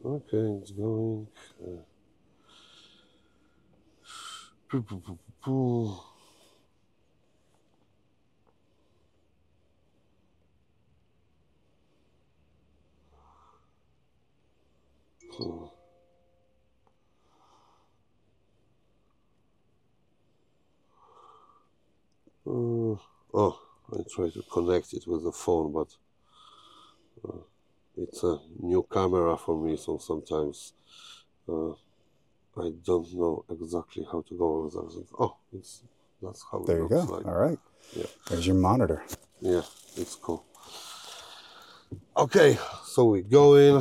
Okay, it's going. Poo, poo, poo, poo, poo. Oh, I try to connect it with the phone, but it's a new camera for me, so sometimes uh, I don't know exactly how to go with everything. Oh, that's how it There you looks go. like. All right. Yeah, There's your monitor. yeah, it's cool. Okay, so we go in.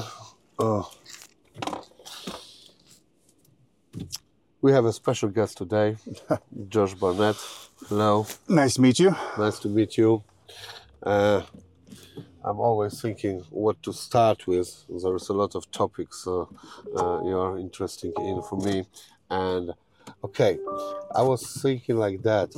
We have a special guest today, Josh Barnett. Hello, Nice to meet you. nice to meet you. I'm always thinking what to start with. There's a lot of topics you are interested in for me, and okay, I was thinking like that.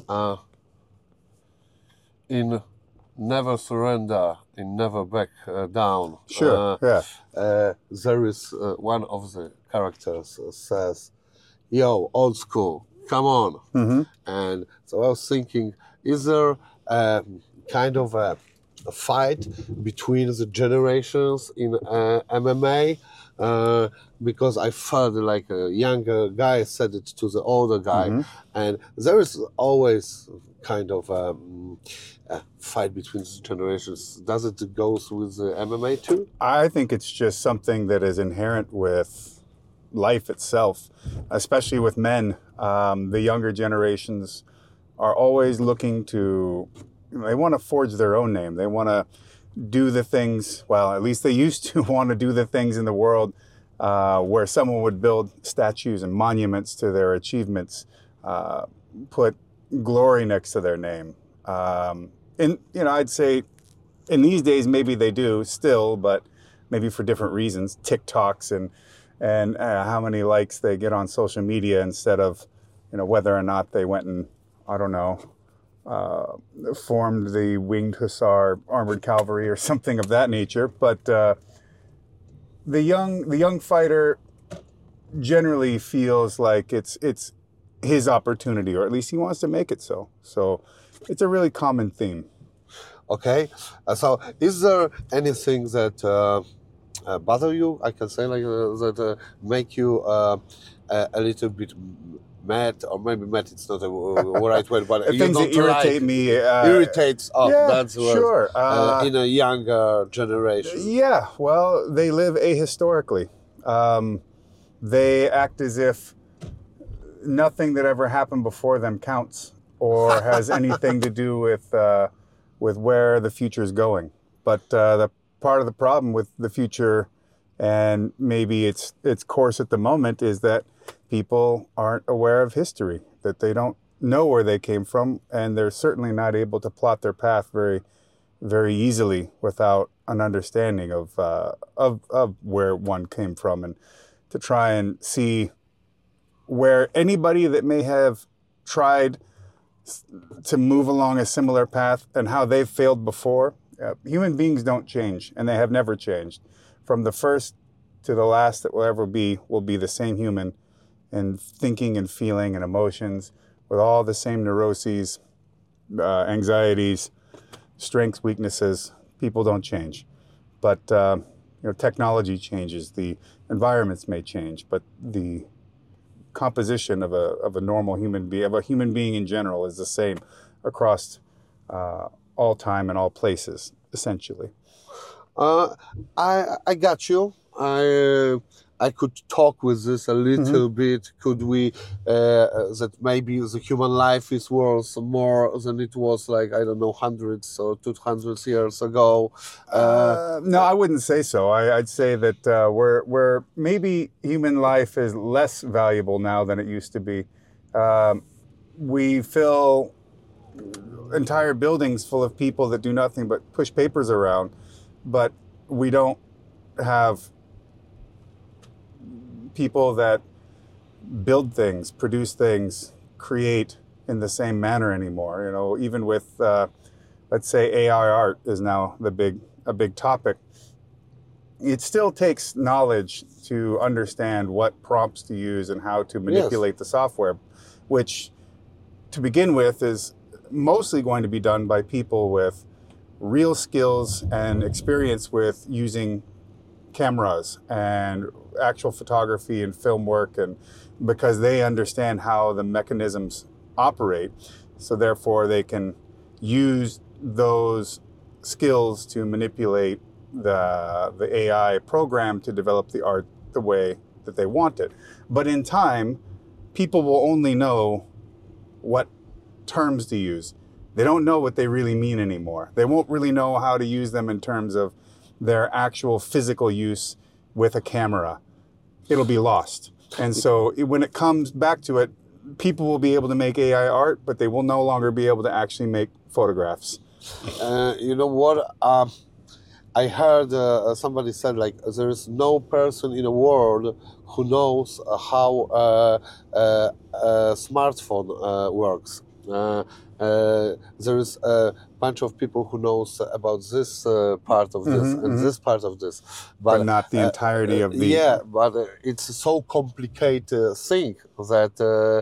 In Never Surrender, in Never Back Down, Sure. Yeah. there is one of the characters says, "Yo, old school, come on." And so I was thinking, is there kind of a fight between the generations in MMA? Because I felt like a younger guy said it to the older guy, and there is always kind of a fight between the generations. Does it go with the MMA too? I think it's just something that is inherent with life itself, especially with men. The younger generations are always looking to, they want to forge their own name. They want to do the things, well, at least they used to want to do the things in the world where someone would build statues and monuments to their achievements, put glory next to their name. And, I'd say in these days, maybe they do still, but maybe for different reasons, TikToks and how many likes they get on social media instead of, whether or not they went and, I don't know, formed the Winged Hussar Armored Cavalry or something of that nature. But the young fighter generally feels like it's his opportunity, or at least he wants to make it so. So it's a really common theme. Okay, so is there anything that bother you? I can say like that make you a little bit mad, or maybe mad. It's not a right word, but you Things don't that irritate like, me. irritates. Oh, Yeah, that's what, sure. in a younger generation. Yeah, well, they live ahistorically. They act as if nothing that ever happened before them counts or has anything to do with where the future is going. But the part of the problem with the future, and maybe its course at the moment, is that people aren't aware of history, that they don't know where they came from, and they're certainly not able to plot their path very, very easily without an understanding of where one came from, and to try and see where anybody that may have tried to move along a similar path and how they've failed before. Human beings don't change, and they have never changed. From the first to the last that will ever be, will be the same human, and thinking and feeling and emotions with all the same neuroses, anxieties, strengths, weaknesses. People don't change. But technology changes, the environments may change, but the composition of a normal human being, of a human being in general, is the same across all time and all places, essentially. I got you. I could talk with this a little bit. Could we that maybe the human life is worth more than it was, like, I don't know, hundreds or 200 years ago? No, I wouldn't say so. I'd say that we're maybe human life is less valuable now than it used to be. We fill entire buildings full of people that do nothing but push papers around, but we don't have people that build things, produce things, create in the same manner anymore. Even with, let's say, AI art is now a big topic. it still takes knowledge to understand what prompts to use and how to manipulate the software, which to begin with is mostly going to be done by people with real skills and experience with using cameras and actual photography and film work, and because they understand how the mechanisms operate, so therefore they can use those skills to manipulate the AI program to develop the art the way that they want it. But in time, people will only know what terms to use. They don't know what they really mean anymore. They won't really know how to use them in terms of their actual physical use with a camera. It'll be lost. And so when it comes back to it, people will be able to make AI art, but they will no longer be able to actually make photographs. You know what? I heard somebody said, like, there is no person in the world who knows how a smartphone works. There is a bunch of people who knows about this part of this and this part of this, but not the entirety of the... Yeah, but it's so complicated thing that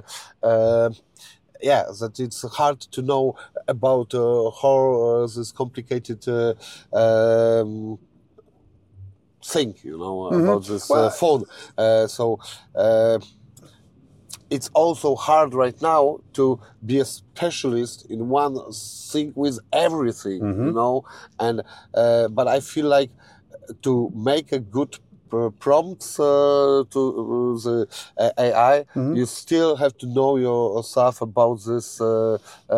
that it's hard to know about how this complicated thing, about this phone. It's also hard right now to be a specialist in one thing with everything, and but I feel like to make a good prompts to the AI, you still have to know yourself about this, about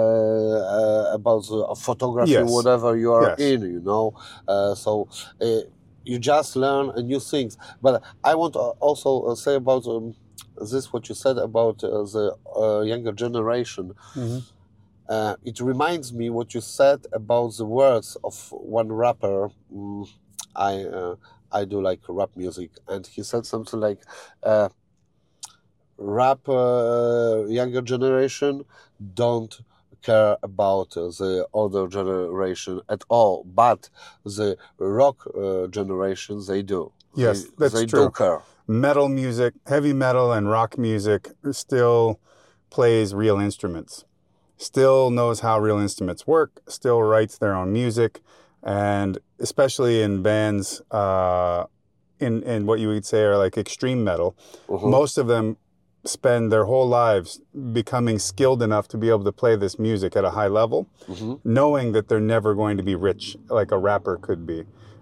the photography, whatever you are in, so you just learn new things. But I want to also say about this, what you said about the younger generation. It reminds me what you said about the words of one rapper. I do like rap music, and he said something like, rap younger generation don't care about the older generation at all, but the rock generation, they do. Yes, that's they true. Do care. Metal music, heavy metal and rock music still plays real instruments, still knows how real instruments work, still writes their own music. And especially in bands, in what you would say are like extreme metal, most of them spend their whole lives becoming skilled enough to be able to play this music at a high level, knowing that they're never going to be rich like a rapper could be.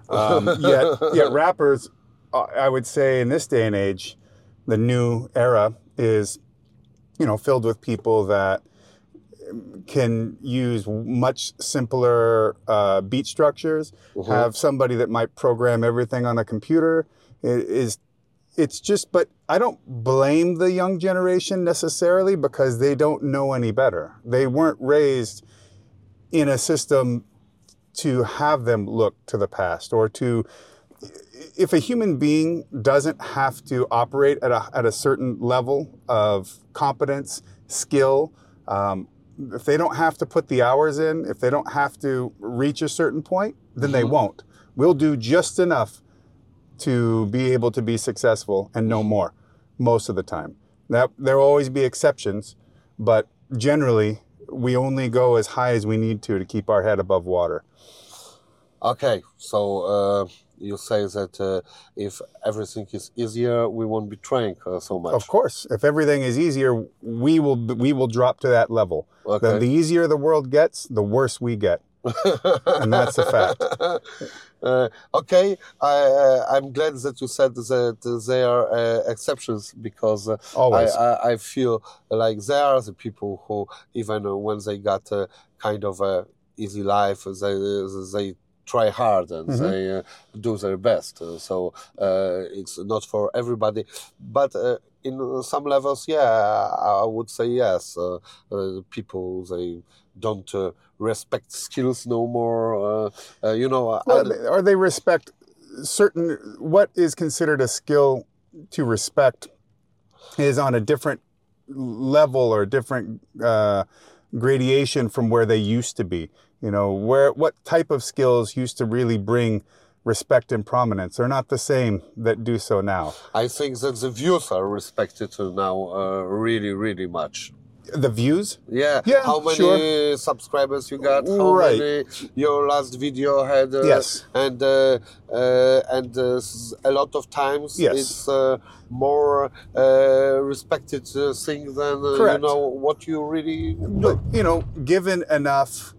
Yet rappers, I would say in this day and age, the new era is, filled with people that can use much simpler beat structures, have somebody that might program everything on a computer. It's just, but I don't blame the young generation necessarily because they don't know any better. They weren't raised in a system to have them look to the past or to, if a human being doesn't have to operate at a certain level of competence, skill, if they don't have to put the hours in, if they don't have to reach a certain point, then they won't. We'll do just enough to be able to be successful and no more most of the time. There will always be exceptions, but generally we only go as high as we need to keep our head above water. Okay, so you say that if everything is easier, we won't be trying so much. Of course, if everything is easier, we will drop to that level. Okay. The easier the world gets, the worse we get, and that's a fact. Okay, I'm glad that you said that there are exceptions because I feel like there are the people who even when they got a kind of a easy life, they try hard and they do their best. So it's not for everybody, but in some levels, I would say yes. People, they don't respect skills no more. Or they respect certain. What is considered a skill to respect is on a different level or different gradation from where they used to be. What type of skills used to really bring respect and prominence are not the same that do so now. I think that the views are respected now really, really much. The views? Yeah. Yeah, How many sure. subscribers you got? How Right. many your last video had? Yes. And a lot of times Yes. it's more respected thing than Correct. what you really. But, given enough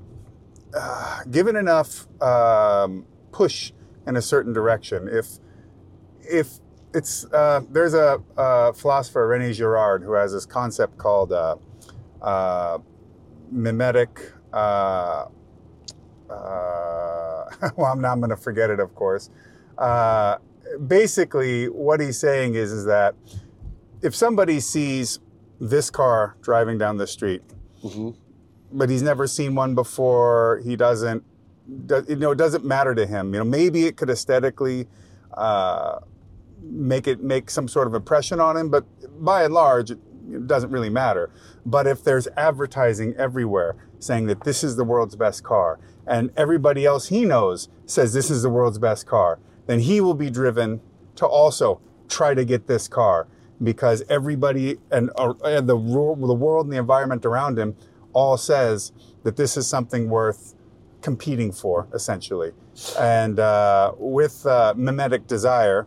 push in a certain direction, if it's there's a philosopher, René Girard, who has this concept called mimetic. Well, I'm going to forget it, of course. Basically, what he's saying is that if somebody sees this car driving down the street, Mm-hmm. but he's never seen one before, it doesn't matter to him. Maybe it could aesthetically make some sort of impression on him, but by and large, it doesn't really matter. But if there's advertising everywhere saying that this is the world's best car, and everybody else he knows says this is the world's best car, then he will be driven to also try to get this car, because everybody and the world and the environment around him all says that this is something worth competing for, essentially. And with mimetic desire,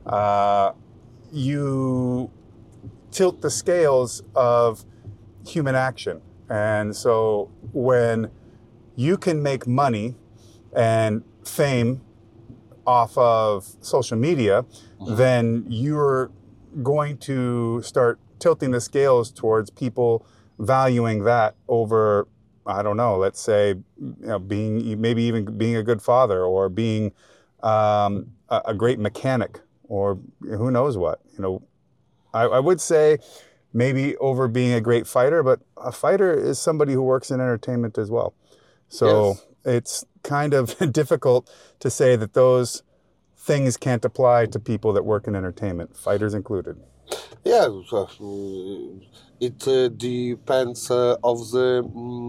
you tilt the scales of human action. And so when you can make money and fame off of social media, Mm-hmm. then you're going to start tilting the scales towards people valuing that over, I don't know, let's say, maybe even being a good father, or being a great mechanic, or who knows what. I would say maybe over being a great fighter, but a fighter is somebody who works in entertainment as well. So Yes. It's kind of difficult to say that those things can't apply to people that work in entertainment, fighters included. Yeah, it depends of the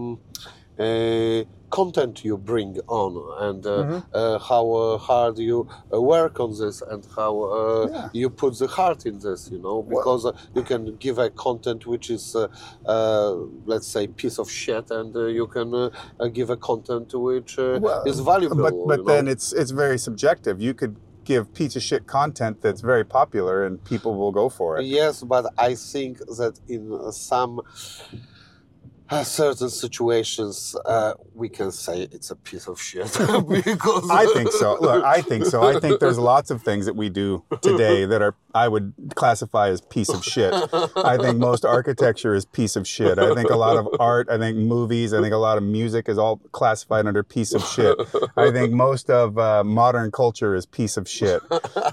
content you bring on, and how hard you work on this, and how Yeah. you put the heart in this, because you can give a content which is, let's say, piece of shit, and you can give a content which is valuable. But then it's very subjective. You could give piece of shit content that's very popular and people will go for it. Yes, but I think that in some certain situations, we can say it's a piece of shit. Because I think so. Look, I think so. I think there's lots of things that we do today that I would classify as piece of shit. I think most architecture is piece of shit. I think a lot of art, I think movies, I think a lot of music is all classified under piece of shit. I think most of modern culture is piece of shit.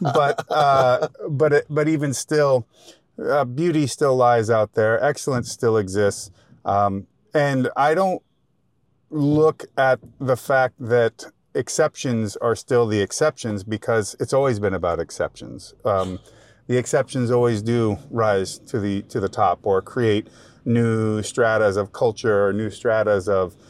But even still, beauty still lies out there. Excellence still exists. And I don't look at the fact that exceptions are still the exceptions, because it's always been about exceptions. The exceptions always do rise to the top, or create new stratas of culture, or new stratas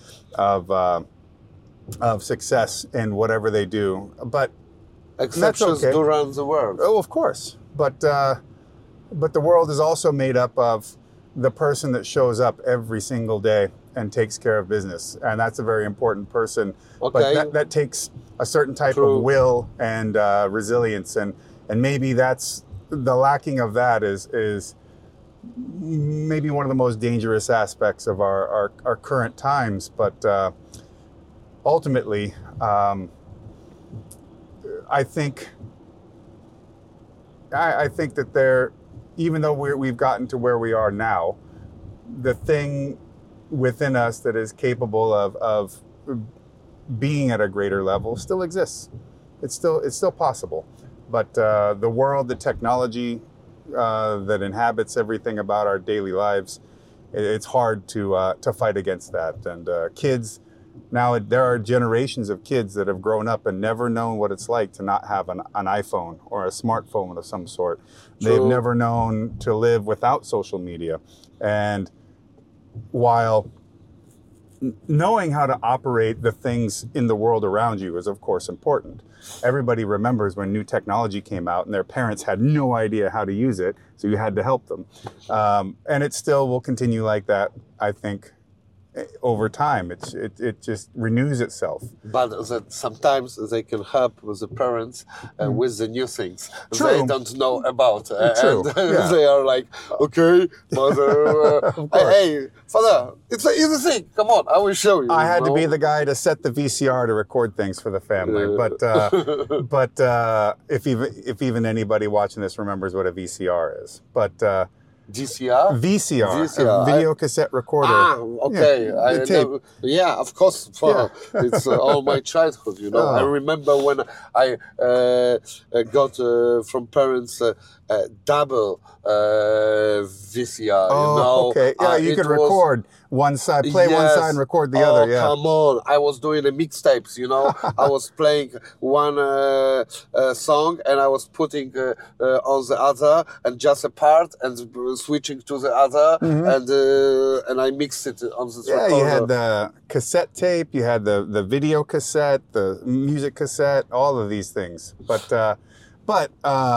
of success in whatever they do. But exceptions okay. do run the world. Oh, of course. But the world is also made up of the person that shows up every single day and takes care of business. And that's a very important person. Okay. But that takes a certain type True. of will and resilience. And maybe that's the lacking of that is maybe one of the most dangerous aspects of our current times. But ultimately, I think that even though we've gotten to where we are now, the thing within us that is capable of being at a greater level still exists. It's still possible. But the world, the technology that inhabits everything about our daily lives, it's hard to fight against that. And kids, now there are generations of kids that have grown up and never known what it's like to not have an iPhone or a smartphone of some sort. True. They've never known to live without social media. And while knowing how to operate the things in the world around you is, of course, important. Everybody remembers when new technology came out and their parents had no idea how to use it, so you had to help them. And it still will continue like that, I think, over time. It just renews itself. But that sometimes they can help with the parents with the new things True. they don't know about. True. And Yeah. they are like, okay, mother, hey, father, it's an easy thing. Come on, I will show you. I had to you be know? the guy to set the VCR to record things for the family. But if even anybody watching this remembers what a VCR is. But GCR? VCR, VCR, a video cassette recorder. Ah, okay. Yeah, I the tape. yeah, of course. It's all my childhood, you know. I remember when I got from parents double VCR. Oh, you know? okay. Yeah, you it could was- record one side, play one Yes. side and record the Oh, other. Yeah. come on. I was doing the mixtapes, you know. I was playing one song and I was putting on the other and just a part and switching to the other and I mixed it on this Yeah, recorder. you had the cassette tape, you had the video cassette, the music cassette, all of these things. But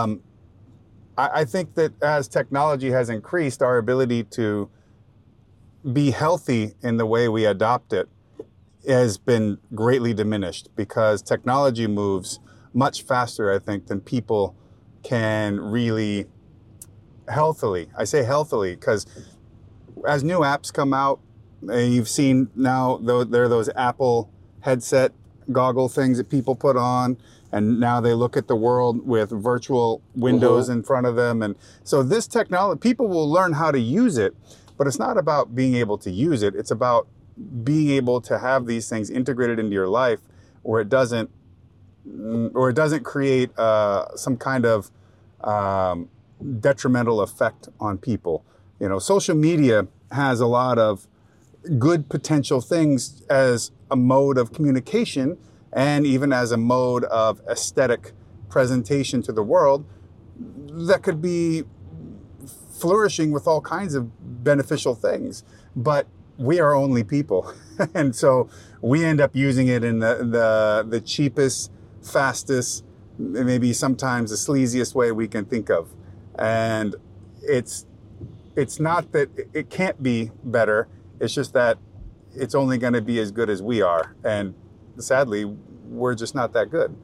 I think that as technology has increased, our ability to be healthy in the way we adopt it has been greatly diminished because technology moves much faster, I think, than people can really healthily. I say healthily because as new apps come out, you've seen now there are those Apple headset goggle things that people put on, and now they look at the world with virtual windows in front of them. And so this technology, people will learn how to use it, but it's not about being able to use it. It's about being able to have these things integrated into your life where it doesn't create some kind of detrimental effect on people. You know, social media has a lot of good potential things as a mode of communication and even as a mode of aesthetic presentation to the world that could be flourishing with all kinds of beneficial things. But we are only people. And so we end up using it in the cheapest, fastest, maybe sometimes the sleaziest way we can think of. And it's not that it can't be better. It's just that it's only going to be as good as we are. And sadly, we're just not that good.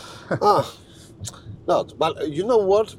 Not. But you know what?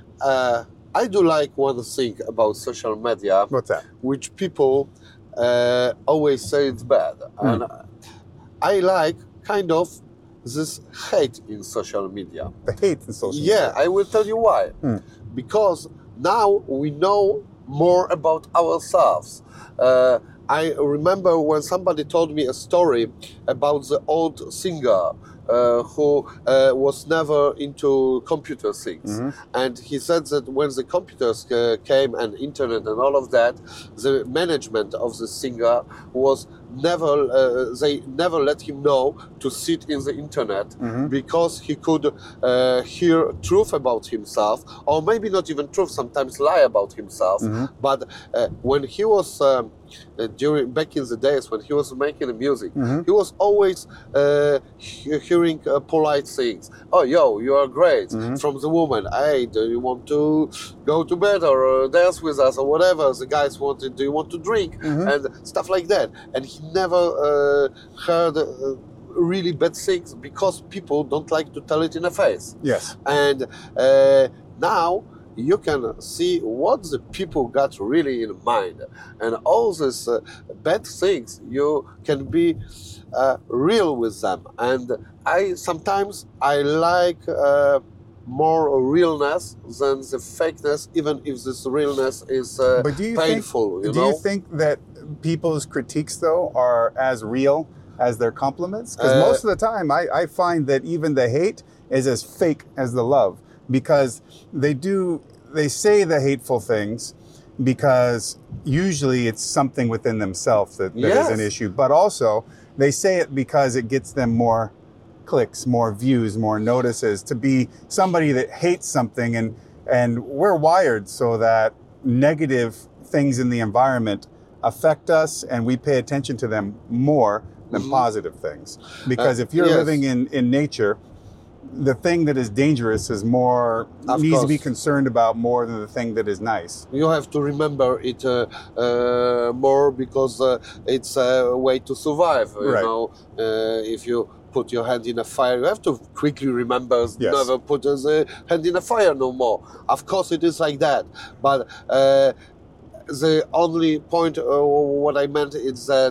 I do like one thing about social media, What's that? which people always say it's bad. And I like kind of this hate in social media. The hate in social Yeah, media. I will tell you why. Because now we know more about ourselves. I remember when somebody told me a story about the old singer who was never into computer things. And he said that when the computers came and internet and all of that, the management of the singer was never, they never let him know to sit in the internet because he could hear truth about himself, or maybe not even truth, sometimes lie about himself. But when he was back in the days when he was making the music, he was always hearing polite things. Oh, yo, you are great. From the woman, hey, do you want to go to bed or dance with us or whatever? The guys wanted, do you want to drink? And stuff like that. And he never heard really bad things because people don't like to tell it in the face. Yes. And now you can see what the people got really in mind, and all these bad things, you can be real with them. And I sometimes like more realness than the fakeness, even if this realness is But do you painful. think, you know? you think that people's critiques, though, are as real as their compliments? Because most of the time, I find that even the hate is as fake as the love, because they say the hateful things because usually it's something within themselves that is an issue, but also they say it because it gets them more clicks, more views, more notices, to be somebody that hates something. And we're wired so that negative things in the environment affect us and we pay attention to them more than positive things. Because if you're living in nature, the thing that is dangerous is needs to be concerned about more than the thing that is nice. You have to remember it more because it's a way to survive. You know, if you put your hand in a fire, you have to quickly remember never put the hand in a fire no more. Of course, it is like that. But the only point, what I meant is that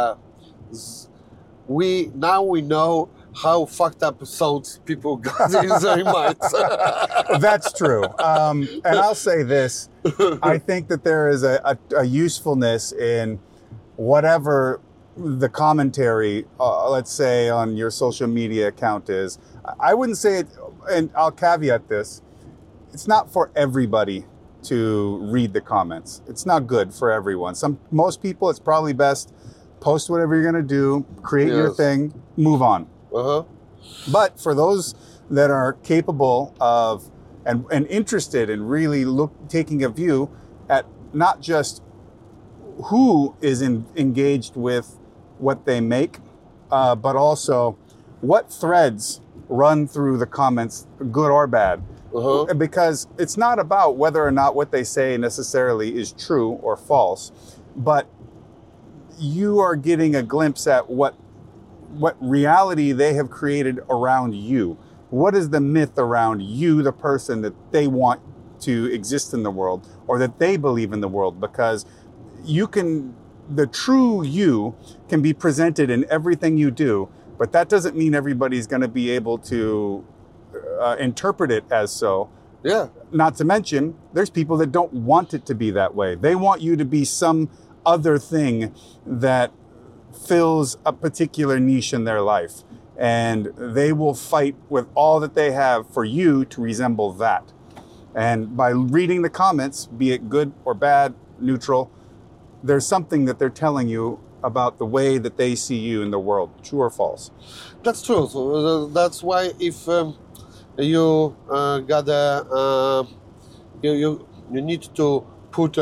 we know how fucked up thoughts people got in their minds. That's true. And I'll say this. I think that there is a usefulness in whatever the commentary, let's say, on your social media account is. I wouldn't say it, and I'll caveat this, it's not for everybody to read the comments. It's not good for everyone. Most people, it's probably best, post whatever you're going to do, create your thing, move on. But for those that are capable of and interested in really taking a view at not just who is engaged with what they make, but also what threads run through the comments, good or bad. Because it's not about whether or not what they say necessarily is true or false, but you are getting a glimpse at what reality they have created around you. What is the myth around you, the person that they want to exist in the world or that they believe in the world? Because the true you can be presented in everything you do, but that doesn't mean everybody's going to be able to interpret it as so. Yeah. Not to mention, there's people that don't want it to be that way. They want you to be some other thing that fills a particular niche in their life, and they will fight with all that they have for you to resemble that. And by reading the comments, be it good or bad, neutral, there's something that they're telling you about the way that they see you in the world, true or false. That's true. So that's why if you got you need to put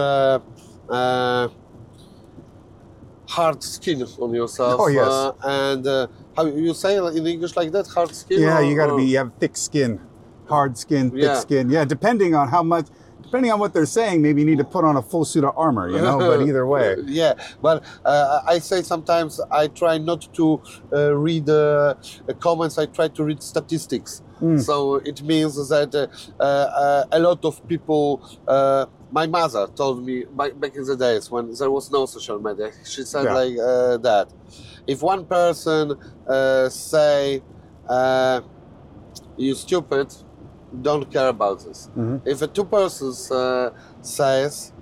hard skin on yourself. Oh, yes. And how you say in English like that, hard skin? Yeah, you have thick skin, hard skin, thick skin. Yeah, depending on what they're saying, maybe you need to put on a full suit of armor, but either way. Yeah, but I say sometimes I try not to read comments, I try to read statistics. So it means that a lot of people, my mother told me back in the days when there was no social media, she said like that. If one person say, you stupid, don't care about this. If a two persons says,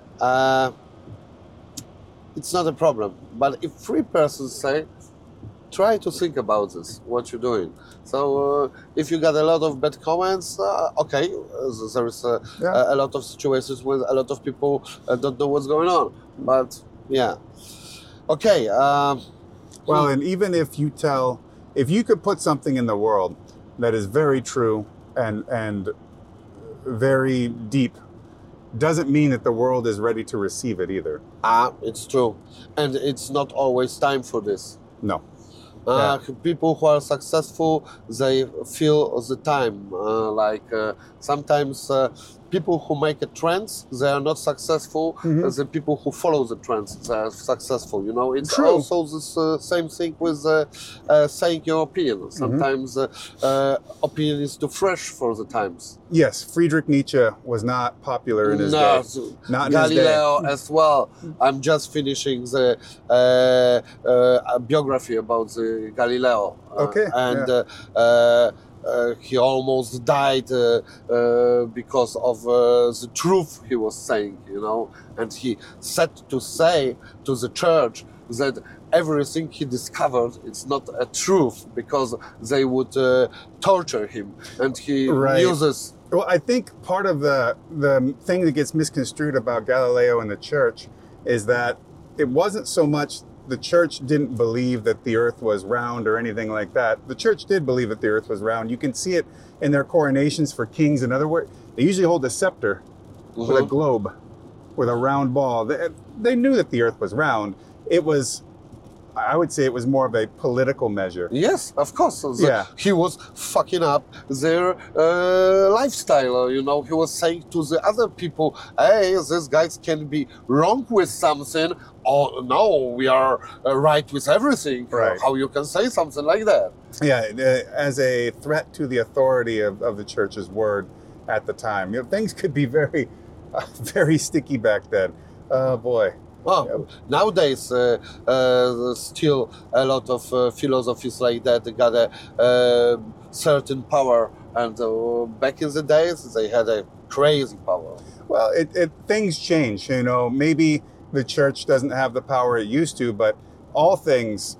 it's not a problem. But if three persons say, try to think about this, what you're doing. So if you got a lot of bad comments, okay, there is a lot of situations where a lot of people don't know what's going on. But yeah, okay. Well, and even if you could put something in the world that is very true and very deep, doesn't mean that the world is ready to receive it either. It's true. And it's not always time for this. No. People who are successful, they feel the time. Sometimes people who make a trend, they are not successful. The people who follow the trends, they are successful. It's True. also the same thing with saying your opinion. Sometimes opinion is too fresh for the times. Yes, Friedrich Nietzsche was not popular in his day. Not in Galileo his day. as well. I'm just finishing the biography about the Galileo. Okay. He almost died because of the truth he was saying, and he said to say to the church that everything he discovered is not a truth because they would torture him, and he uses. Well, I think part of the thing that gets misconstrued about Galileo and the church is that it wasn't so much the church didn't believe that the earth was round or anything like that. The church did believe that the earth was round. You can see it in their coronations for kings. In other words, they usually hold a scepter with a globe. with a round ball. They knew that the earth was round. It was, I would say it was more of a political measure. Yes, of course. Yeah. He was fucking up their lifestyle. He was saying to the other people, hey, these guys can be wrong with something, or no, we are right with everything. Right. How you can say something like that? Yeah, as a threat to the authority of the church's word at the time. Things could be very, very sticky back then. Oh, boy. Well, nowadays, still a lot of philosophies like that got a certain power, and back in the days, they had a crazy power. Well, things change. Maybe the church doesn't have the power it used to, but all things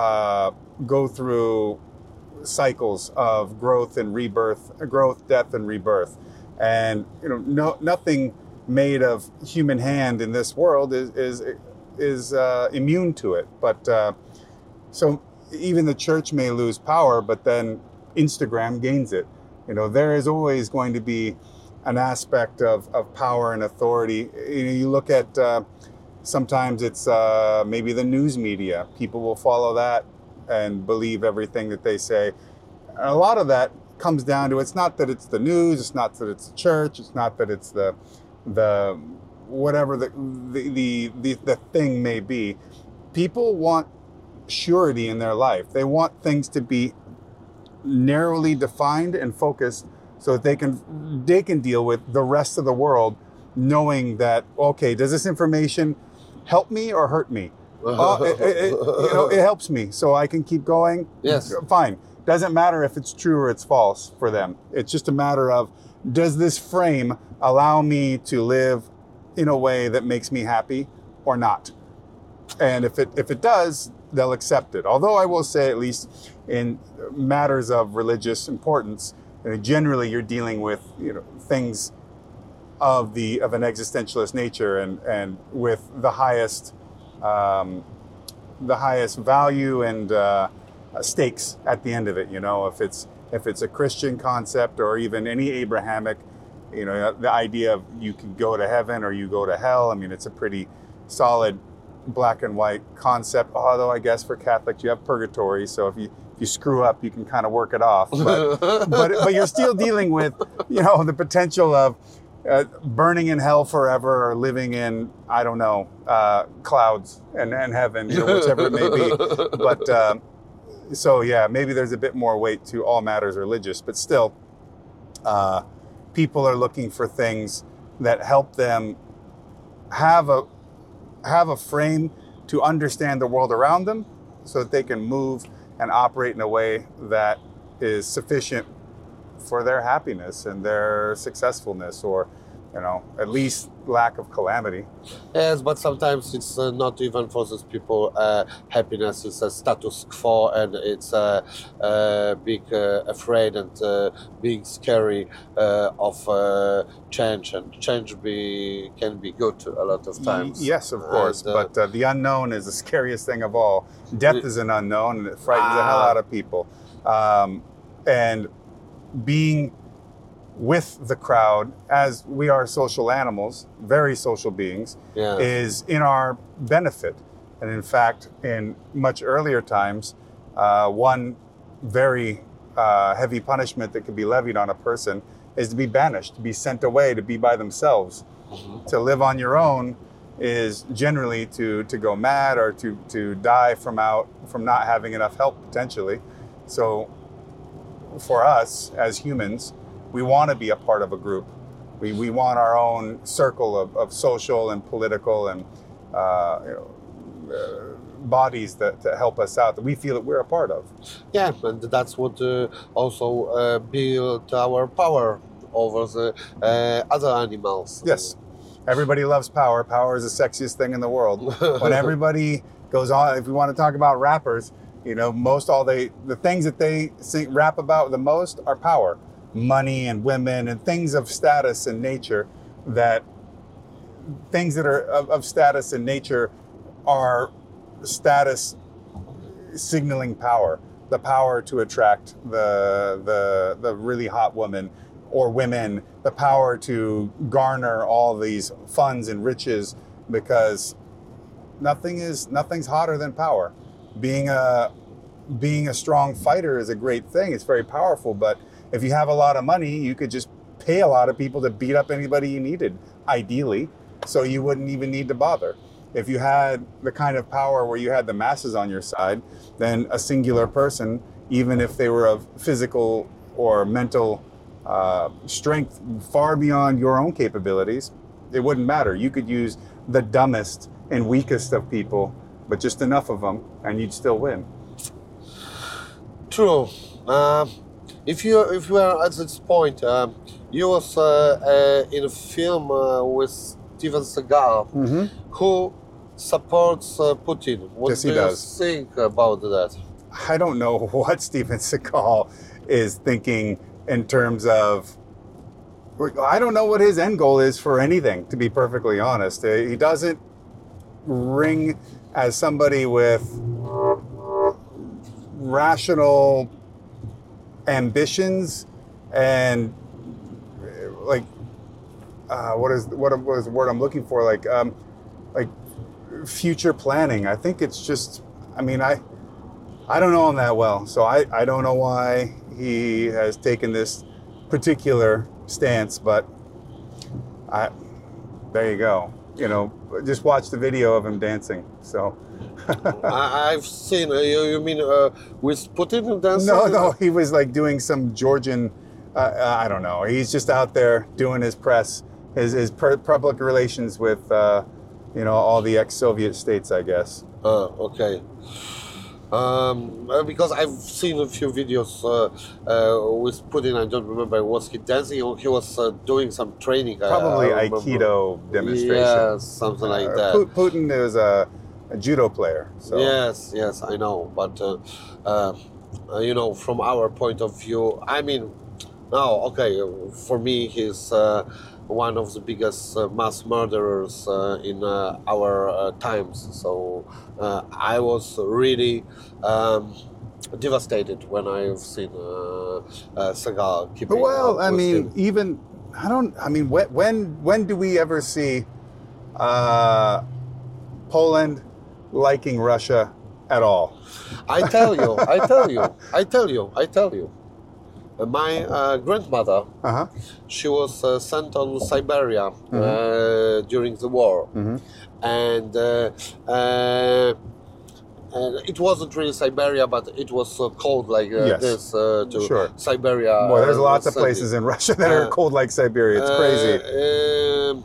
go through cycles of growth and rebirth, growth, death, and rebirth, and nothing made of human hand in this world is immune to it. But so even the church may lose power, but then Instagram gains it. There is always going to be an aspect of power and authority. You look at sometimes it's maybe the news media. People will follow that and believe everything that they say. And a lot of that comes down to, it's not that it's the news, it's not that it's the church, it's not that it's the whatever the thing may be. People want surety in their life. They want things to be narrowly defined and focused so that they can deal with the rest of the world, knowing that, okay, does this information help me or hurt me? It helps me, so I can keep going. Yes. Fine. Doesn't matter if it's true or it's false for them. It's just a matter of, does this frame allow me to live in a way that makes me happy or not? And if it does, they'll accept it. Although I will say, at least in matters of religious importance, generally you're dealing with things of an existentialist nature and with the highest value and stakes at the end of it. If it's a Christian concept or even any Abrahamic, the idea of you can go to heaven or you go to hell. I mean, it's a pretty solid black and white concept. Although I guess for Catholics you have purgatory, so if you screw up, you can kind of work it off. But you're still dealing with the potential of burning in hell forever or living in, I don't know, clouds and heaven, whichever it may be. But so yeah, maybe there's a bit more weight to all matters religious, but still, people are looking for things that help them have a frame to understand the world around them, so that they can move and operate in a way that is sufficient for their happiness and their successfulness, or at least lack of calamity. Yes, but sometimes it's not even for those people. Happiness is a status quo, and it's being afraid and being scary of change. And change can be good a lot of times. Yes, of course. But the unknown is the scariest thing of all. Death is an unknown, and it frightens the hell out of people. And being with the crowd, as we are social animals, very social beings, is in our benefit. And in fact, in much earlier times, one very heavy punishment that could be levied on a person is to be banished, to be sent away, to be by themselves. Mm-hmm. To live on your own is generally to go mad or to die from not having enough help, potentially. So for us as humans, we want to be a part of a group. We want our own circle of social and political and bodies that help us out, that we feel that we're a part of. Yeah, and that's what also built our power over the other animals. Yes, everybody loves power. Power is the sexiest thing in the world. When everybody goes on, if we want to talk about rappers, the things that they rap about the most are power. Money and women and things of status and nature, things that are of status and nature are status signaling power, the power to attract the really hot woman or women the power to garner all these funds and riches, because nothing's hotter than power. Being a strong fighter is a great thing. It's very powerful, but if you have a lot of money, you could just pay a lot of people to beat up anybody you needed, ideally, so you wouldn't even need to bother. If you had the kind of power where you had the masses on your side, then a singular person, even if they were of physical or mental strength far beyond your own capabilities, it wouldn't matter. You could use the dumbest and weakest of people, but just enough of them, and you'd still win. True. If you are at this point, you was in a film with Steven Seagal, who supports Putin. What Yes, do he you does. think about that? I don't know what Steven Seagal is thinking in terms of, I don't know what his end goal is for anything, to be perfectly honest. He doesn't ring as somebody with rational ambitions and like what is the word I'm looking for, like future planning. I think it's just, I mean, I don't know him that well, so I don't know why he has taken this particular stance, but there you go. You know, just watch the video of him dancing. So I've seen. You mean with Putin dancing? no, he was like doing some Georgian. I don't know. He's just out there doing his press, his public relations with, all the ex-Soviet states, I guess. Okay. Because I've seen a few videos with Putin. I don't remember, was he dancing or he was doing some training? Probably I remember. Demonstration. Yeah, something like that. Putin is a judo player. So. Yes, I know. But, from our point of view, I mean, for me, he's one of the biggest mass murderers in our times. So I was really devastated when I've seen Seagal keeping. Well, I mean, him. when do we ever see Poland liking Russia at all? I tell you. My grandmother, she was sent on Siberia during the war, and it wasn't really Siberia, but it was cold like this to Siberia. Boy, there's lots of places in Russia that are cold like Siberia. It's crazy.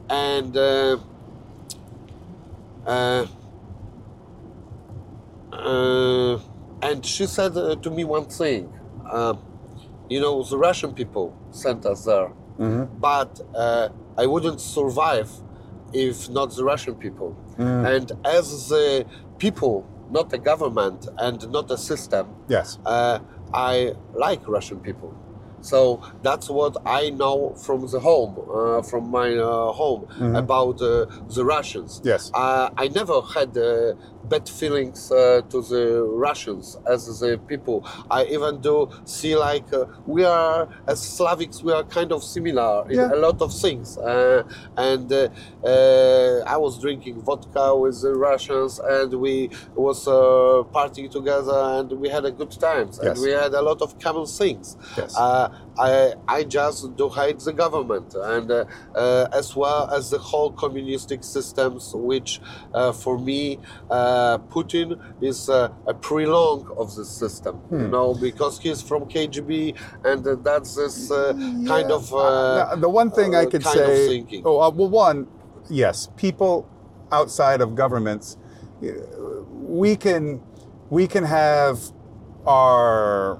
And she said to me one thing. The Russian people sent us there, but I wouldn't survive if not the Russian people. And as the people, not the government and not the system, yes, I like Russian people. So that's what I know from the home, from my home, about the Russians. Yes, I never had bad feelings to the Russians as the people. I even do see like we are, as Slavics, we are kind of similar in a lot of things. And I was drinking vodka with the Russians, and we was partying together, and we had a good times, and we had a lot of common things. Yes. I just do hate the government, and as well as the whole communistic systems, which for me Putin is a prolong of the system, because he's from KGB, and that's this kind of the one thing I could say. Yes, people outside of governments, we can have our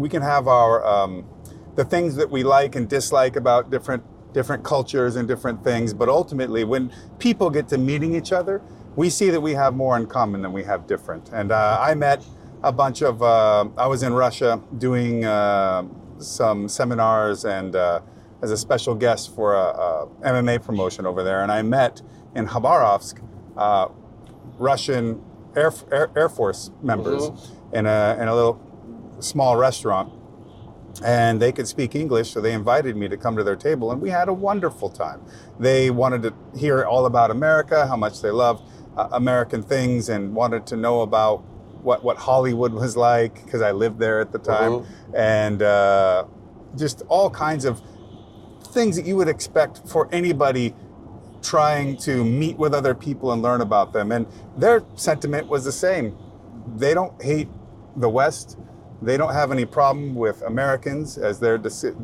the things that we like and dislike about different cultures and different things, but ultimately when people get to meeting each other, we see that we have more in common than we have different. And I met a bunch of, I was in Russia doing some seminars and as a special guest for a MMA promotion over there, and I met in Khabarovsk Russian Air Force members in a little small restaurant. and they could speak English, so they invited me to come to their table, and we had a wonderful time. They wanted to hear all about America, how much they loved American things, and wanted to know about what Hollywood was like, because I lived there at the time, and just all kinds of things that you would expect for anybody trying to meet with other people and learn about them. And their sentiment was the same. They don't hate the West. They don't have any problem with Americans, as they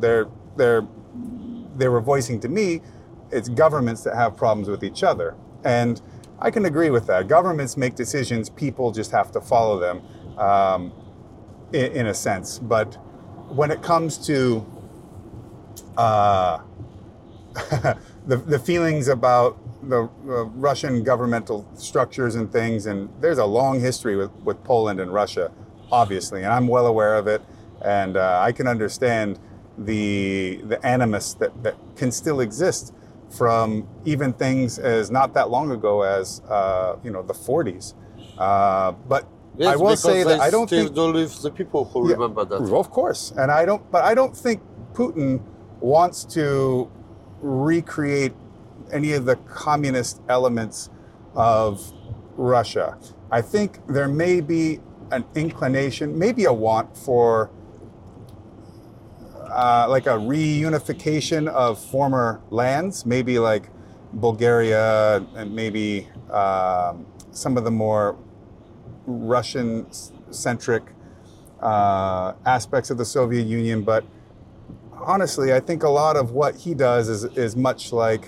were voicing to me. It's governments that have problems with each other. And I can agree with that. Governments make decisions, people just have to follow them, in a sense. But when it comes to the feelings about the Russian governmental structures and things, and there's a long history with Poland and Russia, obviously, and I'm well aware of it, and I can understand the animus that can still exist from even things as not that long ago as the 40s. But yes, I will say that I don't think do live the people who remember that. Of course, and I don't think Putin wants to recreate any of the communist elements of Russia. I think there may be an inclination, maybe a want for like a reunification of former lands, maybe like Bulgaria and maybe some of the more Russian-centric aspects of the Soviet Union. But honestly, I think a lot of what he does is much like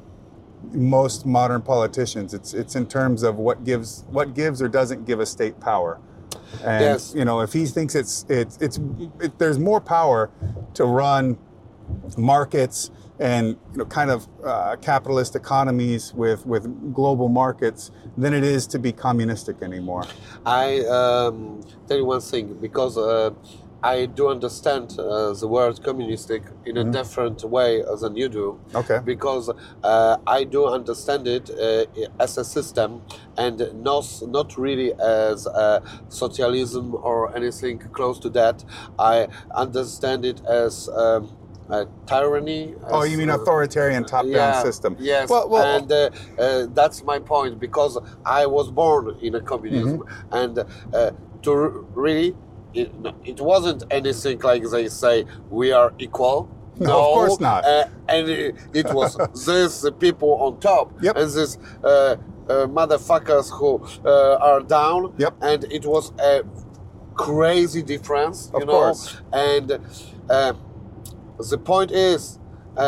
most modern politicians. It's in terms of what gives or doesn't give a state power. And yes. If he thinks there's more power to run markets and kind of capitalist economies with global markets than it is to be communistic anymore. I tell you one thing, because I do understand the word communistic in a different way than you do. Okay. Because I do understand it as a system, and not really as socialism or anything close to that. I understand it as tyranny. Oh, you mean authoritarian top-down system? Yes, and that's my point, because I was born in a communism, and to really. It wasn't anything like they say we are equal. No, of course not. And it was these people on top, and these motherfuckers who are down. And it was a crazy difference, of course. And the point is,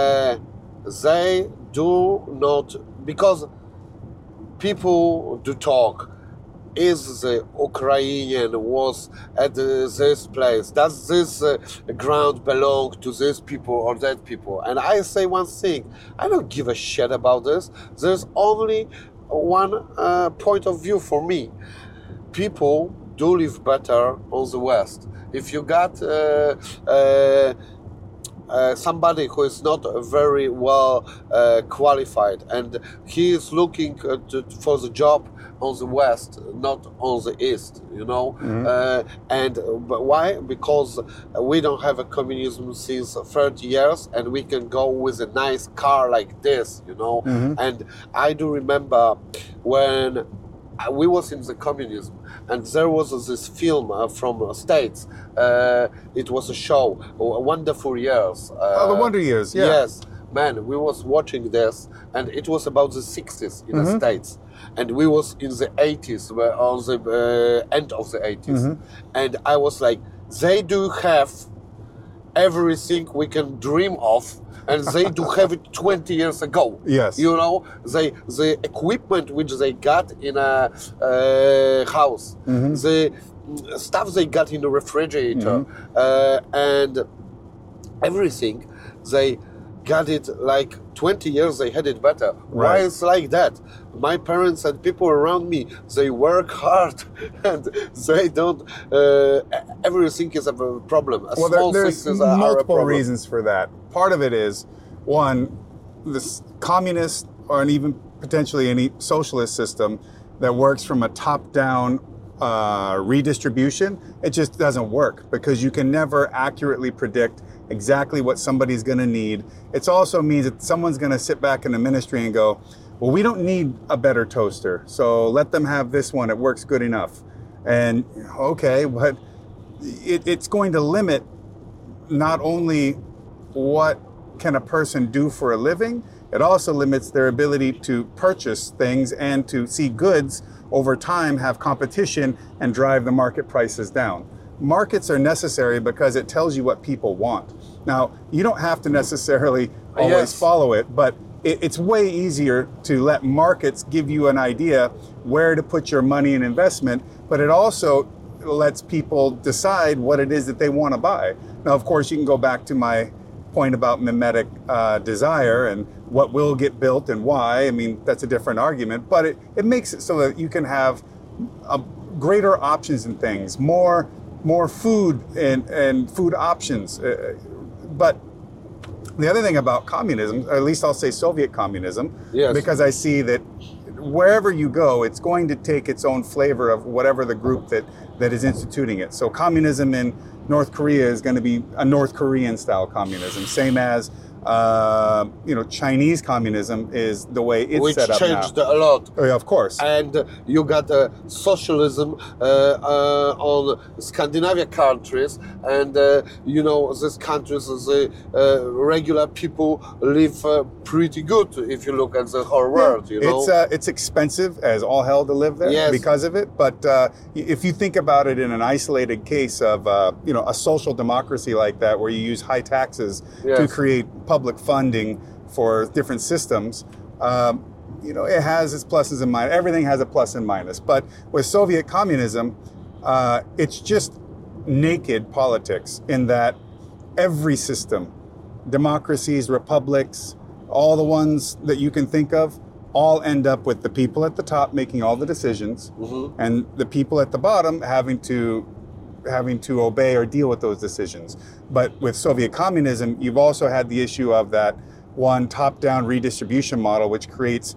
they do not, because people do talk. Is the Ukrainian was at this place? Does this ground belong to these people or that people? And I say one thing, I don't give a shit about this. There's only one point of view for me. People do live better on the West. If you got somebody who is not very well qualified and he is looking for the job on the West, not on the East, and but why? Because we don't have a communism since 30 years, and we can go with a nice car like this, and I do remember when we was in the communism, and there was this film from States. It was a show, Wonderful Years. The Wonder Years, yeah. Yes, man, we was watching this, and it was about the 60s in the States. And we was in the 80s, on the end of the 80s. And I was like, they do have everything we can dream of, and they do have it 20 years ago. Yes. The equipment which they got in a house, the stuff they got in the refrigerator, and everything, they got it like 20 years, they had it better. Right. Why is like that? My parents and people around me, they work hard and they don't, everything is a problem. There's multiple reasons for that. Part of it is, one, this communist or even potentially any socialist system that works from a top-down redistribution, it just doesn't work because you can never accurately predict exactly what somebody's going to need. It also means that someone's going to sit back in the ministry and go, well, we don't need a better toaster, so let them have this one. It works good enough. And okay, but it's going to limit not only what can a person do for a living, it also limits their ability to purchase things and to see goods over time have competition and drive the market prices down. Markets are necessary because it tells you what people want. Now, you don't have to necessarily always follow it, but it's way easier to let markets give you an idea where to put your money and investment, but it also lets people decide what it is that they want to buy. Now, of course, you can go back to my point about mimetic desire and what will get built and why. I mean, that's a different argument, but it makes it so that you can have greater options in things, more food and food options. But the other thing about communism, or at least I'll say Soviet communism, because I see that wherever you go, it's going to take its own flavor of whatever the group that is instituting it. So communism in North Korea is going to be a North Korean style communism, same as Chinese communism is the way it's set up now. Which changed a lot. Oh, yeah, of course. And you got socialism on Scandinavia countries, and these countries, the regular people live pretty good if you look at the whole world. It's expensive as all hell to live there because of it. But if you think about it in an isolated case of a social democracy like that, where you use high taxes to create public funding for different systems, it has its pluses and minuses. Everything has a plus and minus. But with Soviet communism, it's just naked politics in that every system, democracies, republics, all the ones that you can think of, all end up with the people at the top making all the decisions, and the people at the bottom having to obey or deal with those decisions. But with Soviet communism, you've also had the issue of that one top-down redistribution model, which creates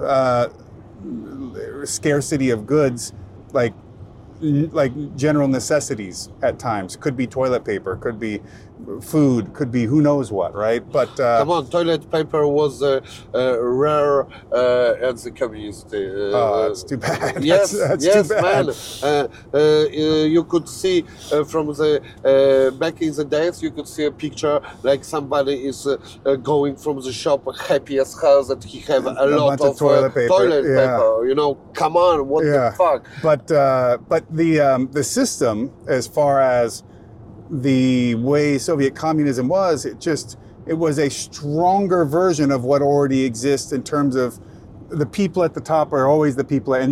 scarcity of goods, like general necessities at times. Could be toilet paper, could be food, could be who knows what, right? But come on, toilet paper was rare at the communist. That's too bad. Yes, that's yes, too bad. Man. You could see from the back in the days, you could see a picture like somebody is going from the shop happy as hell that he have a lot of toilet paper. Come on, what the fuck? But the system, as far as the way Soviet communism was, it was a stronger version of what already exists in terms of the people at the top are always the people. And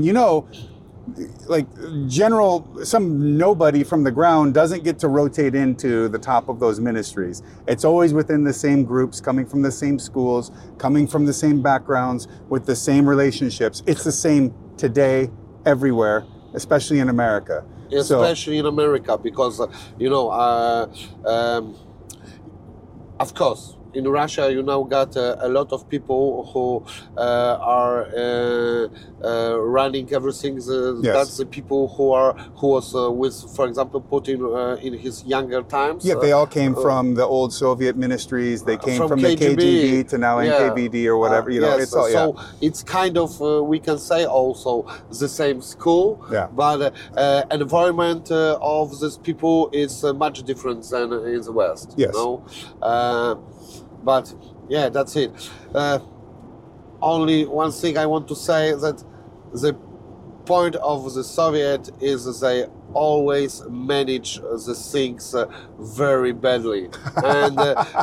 some nobody from the ground doesn't get to rotate into the top of those ministries. It's always within the same groups, coming from the same schools, coming from the same backgrounds, with the same relationships. It's the same today, everywhere, especially in America. Especially in America, because of course, in Russia, you now got a lot of people who are running everything. That's the people who was with, for example, Putin in his younger times. Yeah, they all came from the old Soviet ministries. They came from the KGB to now NKVD or whatever. It's all, so it's kind of we can say also the same school, but environment of these people is much different than in the West. Yes. But yeah, that's it. Only one thing I want to say, that the point of the Soviet is they always manage the things very badly. And,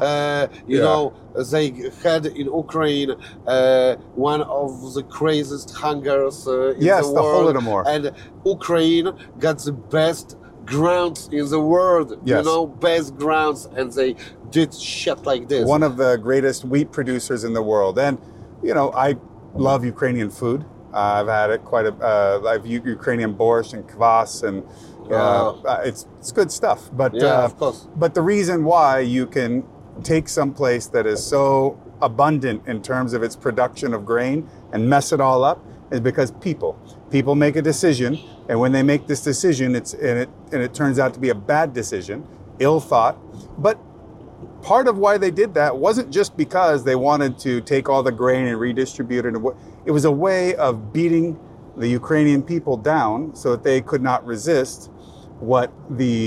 they had in Ukraine one of the craziest hungers in the world. The Holodomor. And Ukraine got the best grounds in the world, best grounds, and they did shit like this. One of the greatest wheat producers in the world. And, I love Ukrainian food. I've had it I've Ukrainian borscht and kvass, and it's good stuff. But of course. But the reason why you can take some place that is so abundant in terms of its production of grain and mess it all up is because people make a decision And when they make this decision, it turns out to be a bad decision, ill thought. But part of why they did that wasn't just because they wanted to take all the grain and redistribute it. It was a way of beating the Ukrainian people down so that they could not resist what the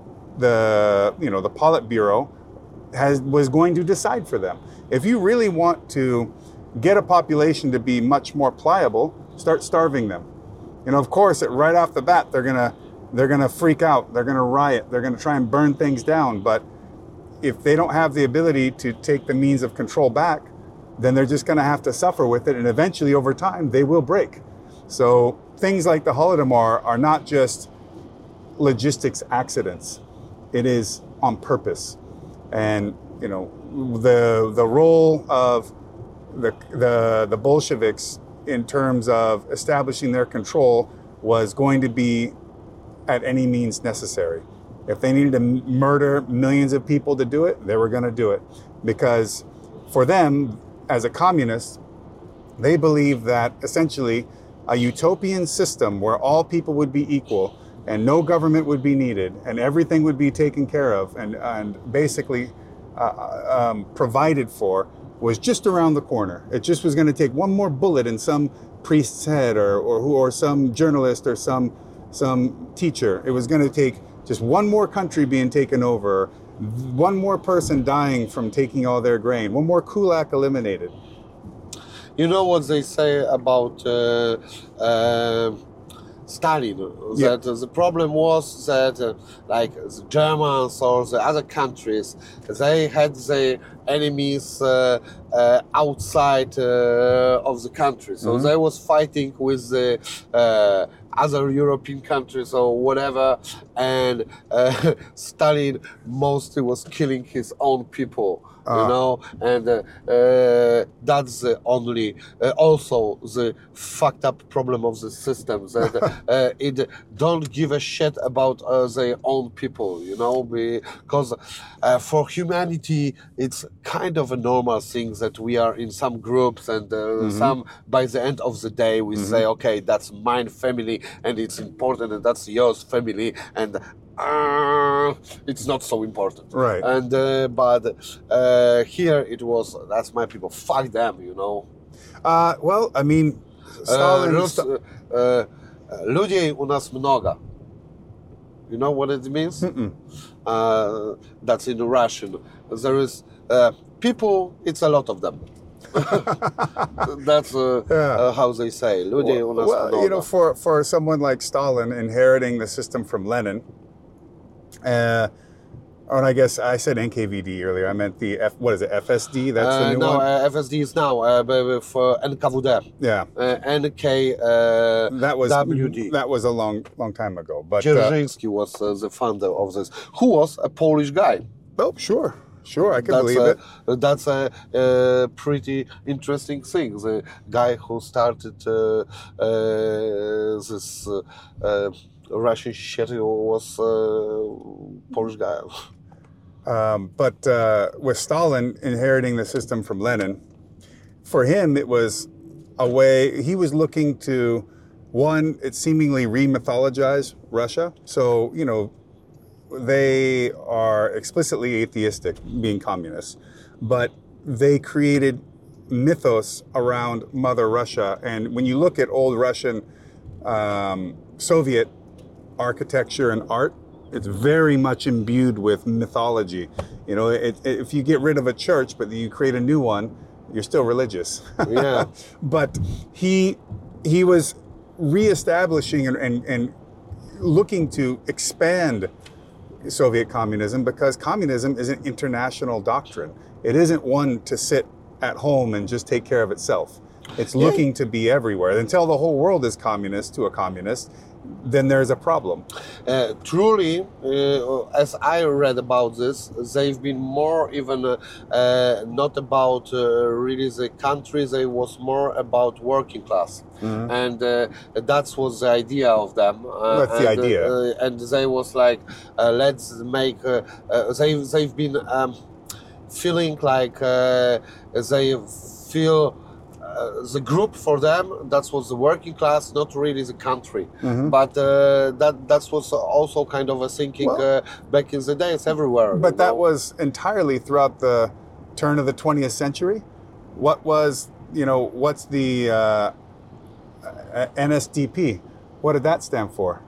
Politburo was going to decide for them. If you really want to get a population to be much more pliable, start starving them. Of course, right off the bat, they're gonna freak out. They're gonna riot. They're gonna try and burn things down. But if they don't have the ability to take the means of control back, then they're just gonna have to suffer with it. And eventually, over time, they will break. So things like the Holodomor are not just logistics accidents. It is on purpose. And the role of the Bolsheviks in terms of establishing their control was going to be at any means necessary. If they needed to murder millions of people to do it, they were going to do it. Because for them, as a communist, they believe that essentially a utopian system where all people would be equal and no government would be needed and everything would be taken care of and basically provided for was just around the corner. It just was going to take one more bullet in some priest's head or some journalist or some teacher. It was going to take just one more country being taken over, one more person dying from taking all their grain, one more kulak eliminated. You know what they say about Stalin? That the problem was that like the Germans or the other countries, they had the enemies outside of the country. So they was fighting with the other European countries or whatever, and Stalin mostly was killing his own people. And that's the only, also the fucked up problem of the system, that it don't give a shit about their own people, because for humanity, it's kind of a normal thing that we are in some groups and some, by the end of the day, we say, okay, that's mine family and it's important, and that's yours family, and it's not so important. Right. And but here it was, that's my people, fuck them, Well, I mean, Stalin... Ludzi u nas mnoga. You know what it means? That's in Russian. There is people, it's a lot of them. That's how they say. Ludzi u nas mnoga. Well, for someone like Stalin inheriting the system from Lenin, and I guess I said NKVD earlier. I meant the FSD? That's the new one? No, FSD is now for NKVD. Yeah. NKWD. That was a long time ago. But Dzierżyński was the founder of this, who was a Polish guy. Oh, sure, I can believe it. That's a pretty interesting thing. The guy who started this Russian shit was Polish guy. But with Stalin inheriting the system from Lenin, for him it was a way, he was looking to, one, it seemingly re-mythologize Russia. So, they are explicitly atheistic, being communists, but they created mythos around Mother Russia. And when you look at old Russian Soviet architecture and art, it's very much imbued with mythology. If you get rid of a church, but you create a new one, you're still religious. Yeah. But he was reestablishing and looking to expand Soviet communism, because communism is an international doctrine. It isn't one to sit at home and just take care of itself. It's looking to be everywhere. Until the whole world is communist to a communist, then there's a problem. Truly, as I read about this, they've been more even not about really the country, they was more about working class. And that was the idea of them. That's the idea. And they was like, let's make, they've been feeling like they feel the group for them, that was the working class, not really the country. But that was also kind of a thinking back in the days everywhere. But that was entirely throughout the turn of the 20th century. What was, what's the NSDP? What did that stand for?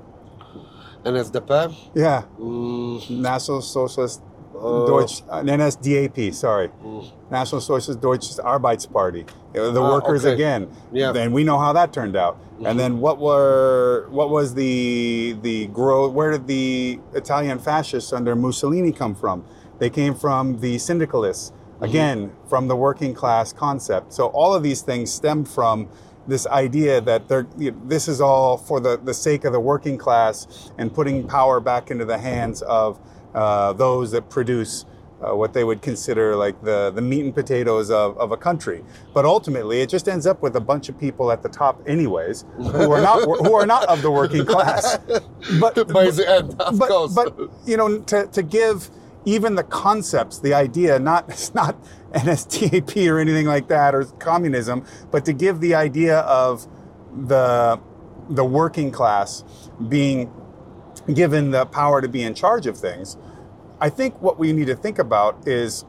NSDAP? Yeah. National Socialist Deutsch, NSDAP, sorry. National Socialist Deutsches Arbeitsparty. The workers again. Yeah. And we know how that turned out. And then what was the growth? Where did the Italian fascists under Mussolini come from? They came from the syndicalists, again, from the working class concept. So all of these things stem from this idea that this is all for the sake of the working class and putting power back into the hands of those that produce what they would consider like the meat and potatoes of a country. But ultimately, it just ends up with a bunch of people at the top, anyways, who are not of the working class. But by the end, of course. But to give even the concepts, the idea, it's not NSDAP or anything like that, or communism, but to give the idea of the working class being given the power to be in charge of things. I think what we need to think about is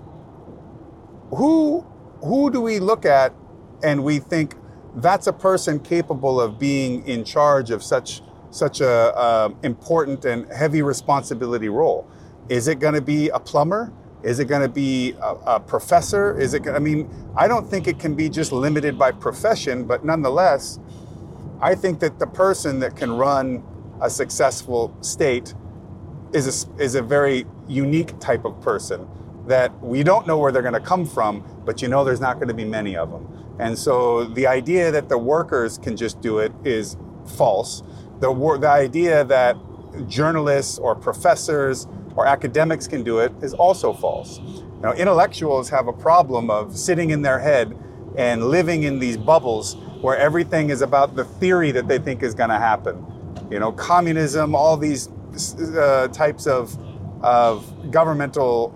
who do we look at and we think that's a person capable of being in charge of such a important and heavy responsibility role? Is it going to be a plumber? Is it going to be a professor? I don't think it can be just limited by profession, but nonetheless, I think that the person that can run a successful state is a very unique type of person that we don't know where they're going to come from, but there's not going to be many of them. And so the idea that the workers can just do it is false. The idea that journalists or professors or academics can do it is also false. Intellectuals have a problem of sitting in their head and living in these bubbles where everything is about the theory that they think is going to happen. Communism, all these types of governmental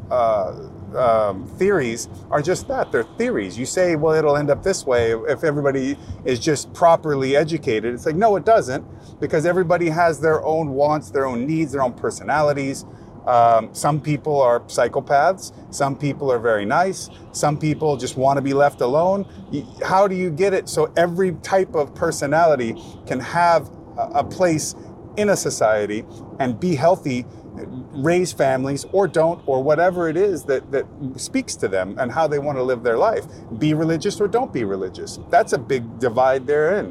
theories are just that. They're theories. You say, well, it'll end up this way if everybody is just properly educated. It's like, no, it doesn't, because everybody has their own wants, their own needs, their own personalities. Some people are psychopaths. Some people are very nice. Some people just want to be left alone. How do you get it so every type of personality can have a place in a society and be healthy, raise families, or don't, or whatever it is that speaks to them and how they want to live their life? Be religious or don't be religious. That's a big divide therein.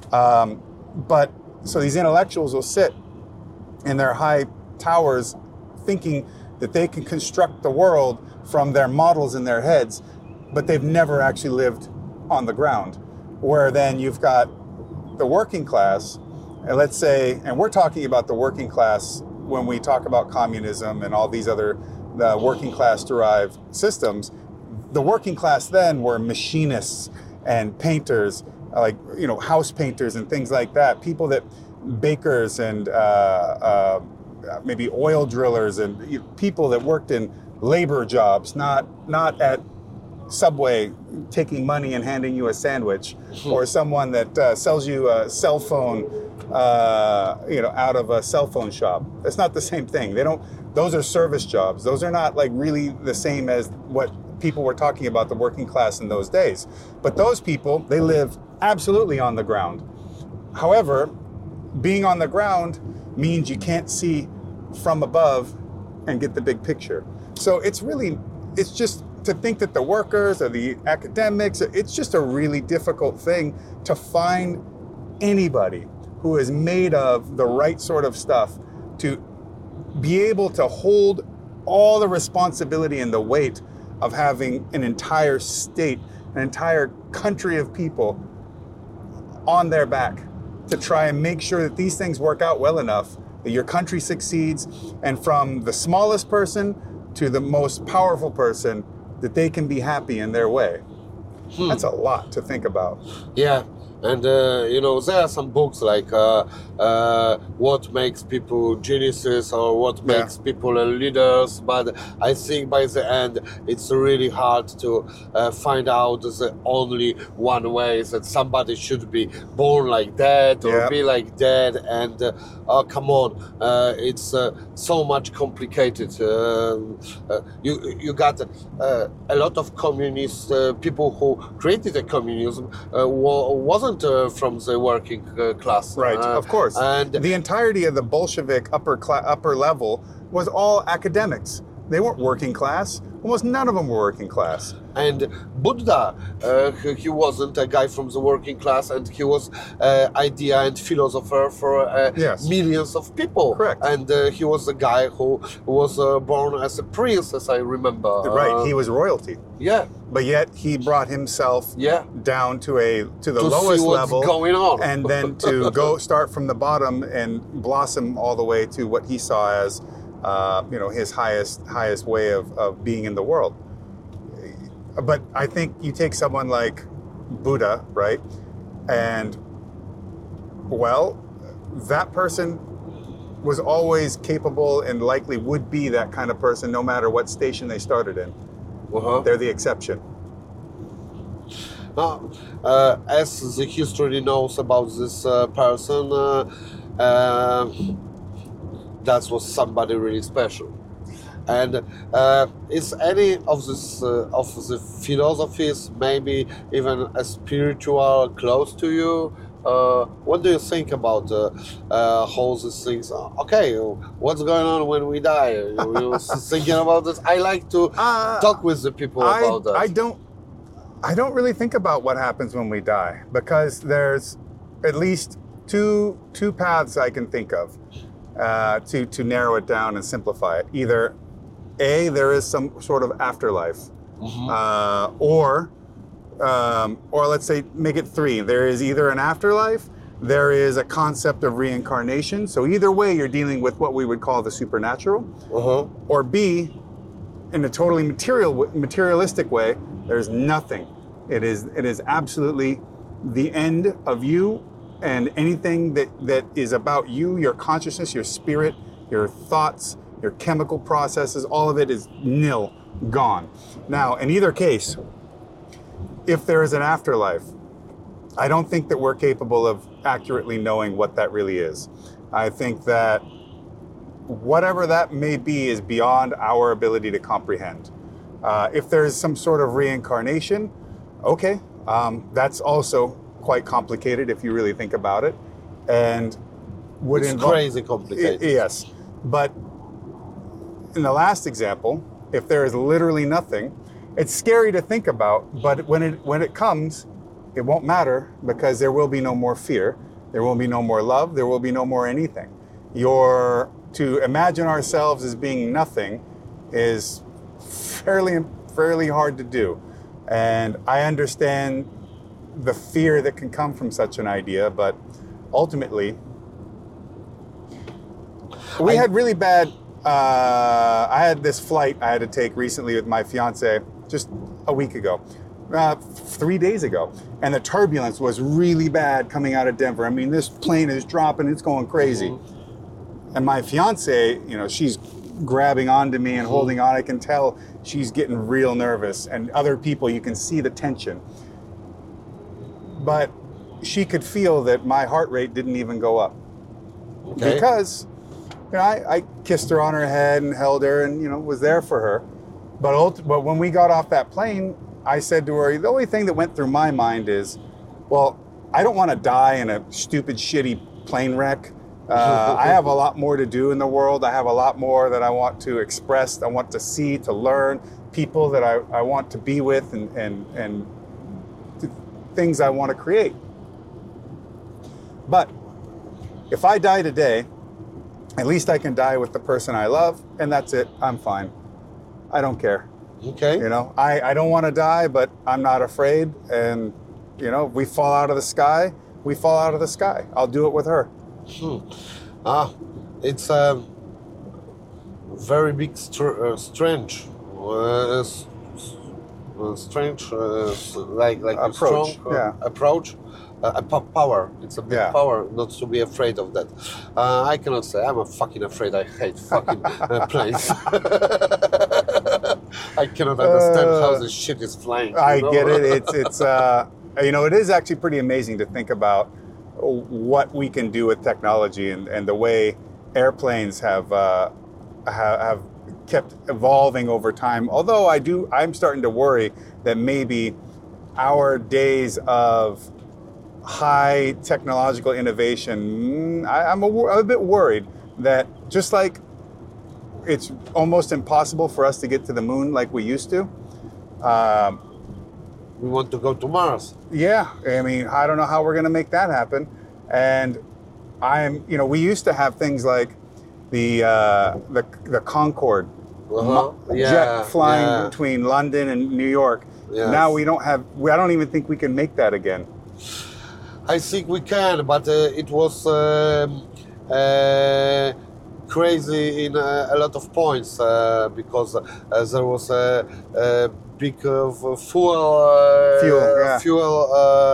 But so these intellectuals will sit in their high towers thinking that they can construct the world from their models in their heads, but they've never actually lived on the ground. Where then you've got the working class, and let's say, and we're talking about the working class when we talk about communism and all these other working class derived systems. The working class then were machinists and painters, house painters and things like that. Bakers and maybe oil drillers and people that worked in labor jobs, not at Subway taking money and handing you a sandwich, or someone that sells you a cell phone, out of a cell phone shop. That's not the same thing. Those are service jobs. Those are not really the same as what people were talking about the working class in those days. But those people, they live absolutely on the ground. However, being on the ground means you can't see from above and get the big picture. So it's just to think that the workers or the academics, it's just a really difficult thing to find anybody who is made of the right sort of stuff to be able to hold all the responsibility and the weight of having an entire state, an entire country of people on their back to try and make sure that these things work out well enough that your country succeeds, and from the smallest person to the most powerful person, that they can be happy in their way. That's a lot to think about. Yeah, And there are some books like what makes people geniuses or what makes people leaders. But I think by the end, it's really hard to find out the only one way that somebody should be born like that or be like that. And come on, it's so much complicated. You got a lot of communist people who created the communism wasn't from the working class. Right, of course. And the entirety of the Bolshevik upper level was all academics. They weren't working class. Almost none of them were working class. And Buddha, he wasn't a guy from the working class, and he was idea and philosopher for millions of people. Correct. And he was a guy who was born as a prince, as I remember. Right, he was royalty. Yeah. But yet he brought himself down to the lowest see what's level, going on. and then to start from the bottom and blossom all the way to what he saw as his highest way of being in the world. But I think you take someone like Buddha, right? And, well, that person was always capable and likely would be that kind of person no matter what station they started in. They're the exception. Now, as the history knows about this person, that was somebody really special. And is any of this of the philosophies maybe even a spiritual close to you? What do you think about how these things? Okay, what's going on when we die? You thinking about this? I like to talk with the people about that. I don't really think about what happens when we die, because there's at least two paths I can think of to narrow it down and simplify it. Either A, there is some sort of afterlife, or let's say make it three. There is either an afterlife, there is a concept of reincarnation. So either way, you're dealing with what we would call the supernatural. Or B, in a totally materialistic way, there's nothing. It is absolutely the end of you, and anything that is about you, your consciousness, your spirit, your thoughts, your chemical processes, all of it is nil, gone. Now, in either case, if there is an afterlife, I don't think that we're capable of accurately knowing what that really is. I think that whatever that may be is beyond our ability to comprehend. If there's some sort of reincarnation, okay, that's also quite complicated if you really think about it, and would involve crazy complicated. Yes, but in the last example, if there is literally nothing, it's scary to think about, but when it comes, it won't matter, because there will be no more fear, there will be no more love, there will be no more anything. To imagine ourselves as being nothing is fairly hard to do. And I understand the fear that can come from such an idea, but ultimately, we had really bad, I had this flight I had to take recently with my fiance just a week ago, 3 days ago. And the turbulence was really bad coming out of Denver. I mean, this plane is dropping, it's going crazy. And my fiance, she's grabbing onto me and holding on. I can tell she's getting real nervous, and other people, you can see the tension. But she could feel that my heart rate didn't even go up. Okay. Because I kissed her on her head and held her and was there for her. But when we got off that plane, I said to her, the only thing that went through my mind is, well, I don't want to die in a stupid, shitty plane wreck. I have a lot more to do in the world. I have a lot more that I want to express, I want to see, to learn, people that I want to be with, and things I want to create. But if I die today, at least I can die with the person I love, and that's it. I'm fine. I don't care. Okay. I don't want to die, but I'm not afraid. And, if we fall out of the sky, we fall out of the sky. I'll do it with her. It's a very big strange strange, like Approach, strong yeah. approach. Power. It's a big Yeah. power not to be afraid of that. I cannot say I'm fucking afraid. I hate fucking planes. I cannot understand how this shit is flying. I get it. It's it is actually pretty amazing to think about what we can do with technology and the way airplanes have kept evolving over time. Although I'm starting to worry that maybe our days of high technological innovation, I'm a bit worried that just like it's almost impossible for us to get to the moon like we used to. We want to go to Mars. Yeah, I mean, I don't know how we're going to make that happen. And we used to have things like the Concorde jet flying between London and New York. Yes. Now I don't even think we can make that again. I think we can, but it was crazy in a lot of points because there was a big fuel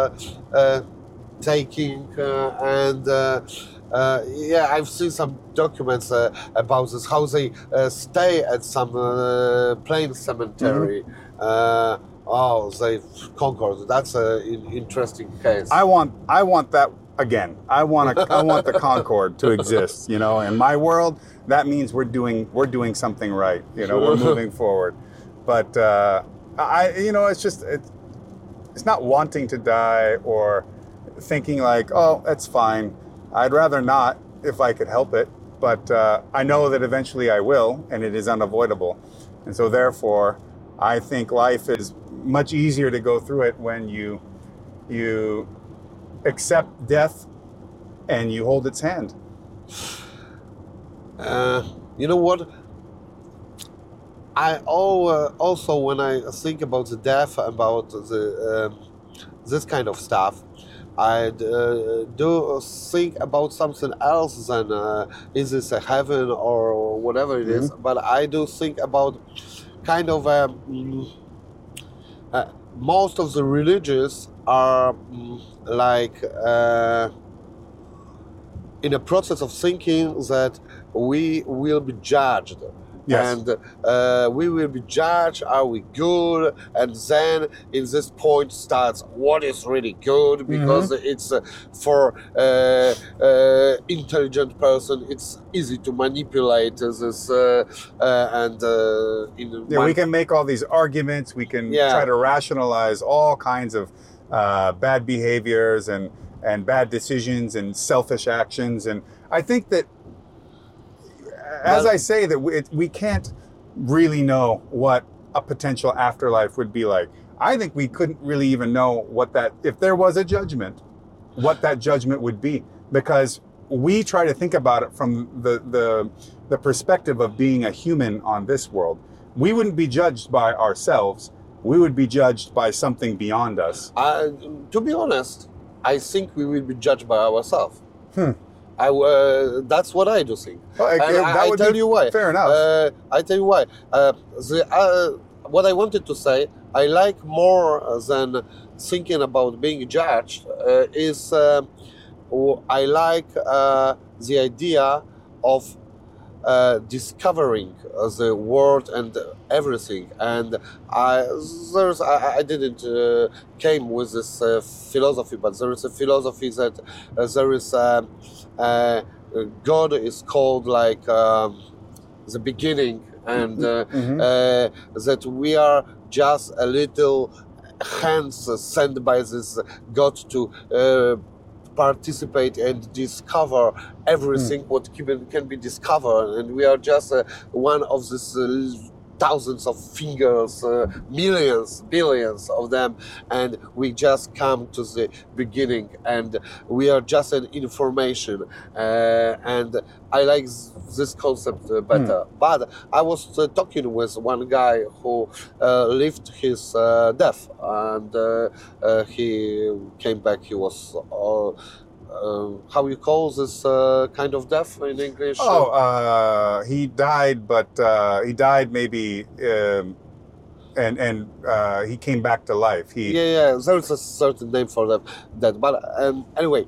taking and I've seen some documents about this, how they stay at some plane cemetery. Mm-hmm. They Concorde. That's an interesting case. I want that again. I want the Concorde to exist. In my world, that means we're doing something right. We're moving forward. But it's not wanting to die or thinking like, oh, that's fine. I'd rather not if I could help it. But I know that eventually I will, and it is unavoidable. And so therefore, I think life is much easier to go through it when you accept death and you hold its hand. You know what? I also, when I think about the death, about the this kind of stuff, I do think about something else than is this a heaven or whatever it is. But I do think about kind of most of the religions are in a process of thinking that we will be judged. Yes. And we will be judged, are we good? And then in this point starts what is really good, because it's for intelligent person, it's easy to manipulate this we can make all these arguments, we can try to rationalize all kinds of bad behaviors and bad decisions and selfish actions. And I think that as I say that we can't really know what a potential afterlife would be like. I think we couldn't really even know if there was a judgment, what that judgment would be, because we try to think about it from the perspective of being a human on this world. We wouldn't be judged by ourselves. We would be judged by something beyond us. To be honest, I think we will be judged by ourselves. That's what I do think. I tell you why. Fair enough. I tell you why. What I wanted to say, I like more than thinking about being judged, is I like the idea of discovering the world and everything. And I didn't came with this philosophy, but there is a philosophy that there is God is called like the beginning, and that we are just a little hands sent by this God to participate and discover everything what can be discovered, and we are just one of these thousands of fingers, millions, billions of them, and we just come to the beginning, and we are just an information, and I like this concept better. But I was talking with one guy who lived his death, and he came back. He was how you call this kind of death in English? He died, but he died maybe and he came back to life. Yeah, there's a certain name for that. But anyway,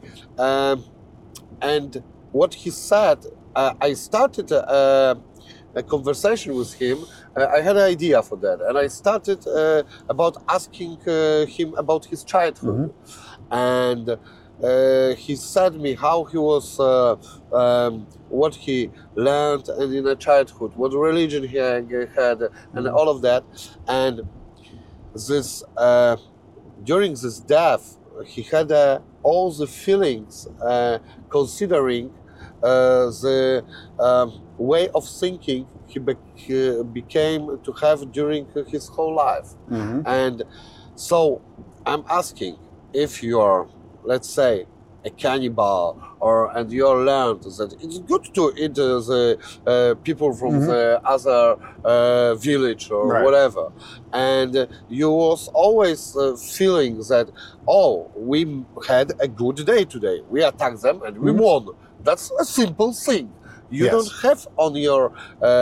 and what he said, I started a conversation with him. I had an idea for that, and I started about asking him about his childhood, and he said me how he was, what he learned in a childhood, what religion he had, and all of that, and this during this death, he had all the feelings, considering the way of thinking he became to have during his whole life. And so I'm asking, if you are, let's say, a cannibal, and you learned that it's good to eat the people from the other village or whatever, and you was always feeling that, oh, we had a good day today, we attacked them and we won. That's a simple thing. You don't have on your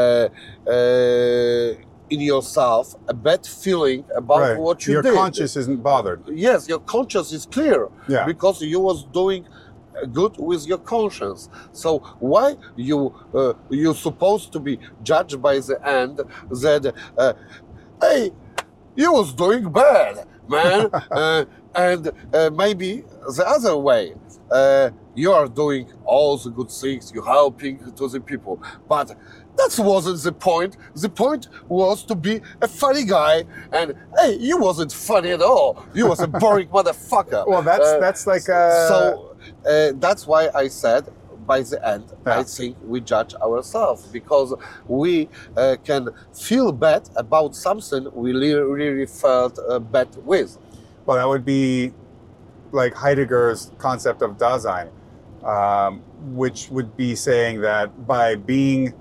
in yourself a bad feeling about what you did. Your conscience isn't bothered. Yes, your conscience is clear because you was doing good with your conscience. So why you supposed to be judged by the end that hey, you was doing bad, man, and maybe the other way. You are doing all the good things, you're helping to the people, but that wasn't the point. The point was to be a funny guy, and hey, you wasn't funny at all. You was a boring motherfucker. Well, that's like so that's why I said by the end, I think we judge ourselves because we can feel bad about something we really felt bad with. Well, that would be like Heidegger's concept of Dasein, which would be saying that by being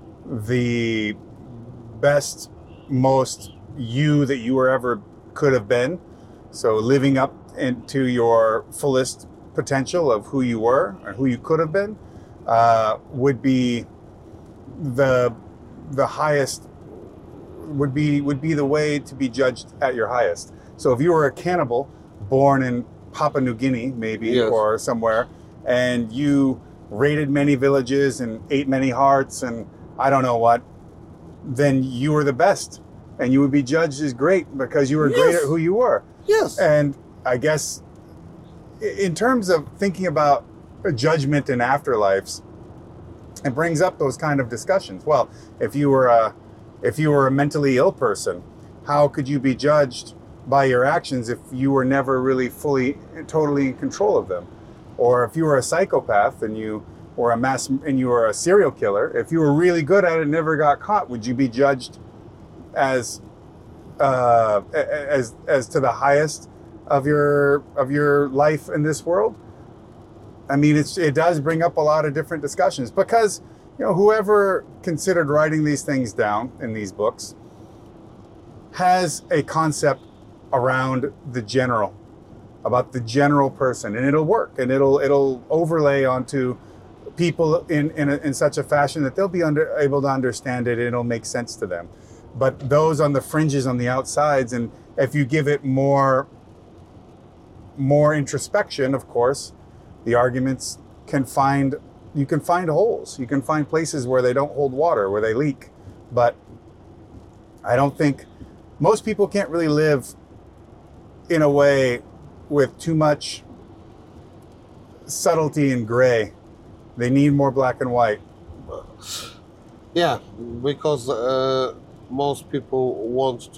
the best, most you that you were ever could have been, so living up into your fullest potential of who you were or who you could have been, would be the highest, would be the way to be judged at your highest. So if you were a cannibal born in Papua New Guinea, maybe, or somewhere, and you raided many villages and ate many hearts and I don't know what, then you were the best, and you would be judged as great because you were great at who you were. Yes. And I guess in terms of thinking about judgment in afterlives, it brings up those kind of discussions. Well, if you were a mentally ill person, how could you be judged by your actions if you were never really totally in control of them? Or if you were a psychopath and you were a serial killer, if you were really good at it and never got caught, would you be judged as to the highest of your life in this world? I mean, it does bring up a lot of different discussions because, you know, whoever considered writing these things down in these books has a concept around about the general person, and it'll work, and it'll overlay onto people in such a fashion that they'll be able to understand it, and it'll make sense to them. But those on the fringes, on the outsides, and if you give it more introspection, of course, the arguments you can find holes, you can find places where they don't hold water, where they leak. But I don't think most people can't really live in a way with too much subtlety and gray. They need more black and white. Yeah, because most people want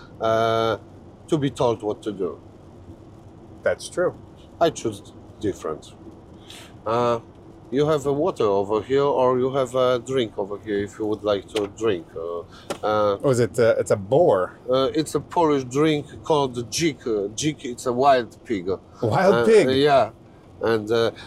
to be told what to do. That's true. I choose different. You have a water over here, or you have a drink over here if you would like to drink. It's a boar. It's a Polish drink called dzik. Dzik, it's a wild pig. Wild pig? Yeah. And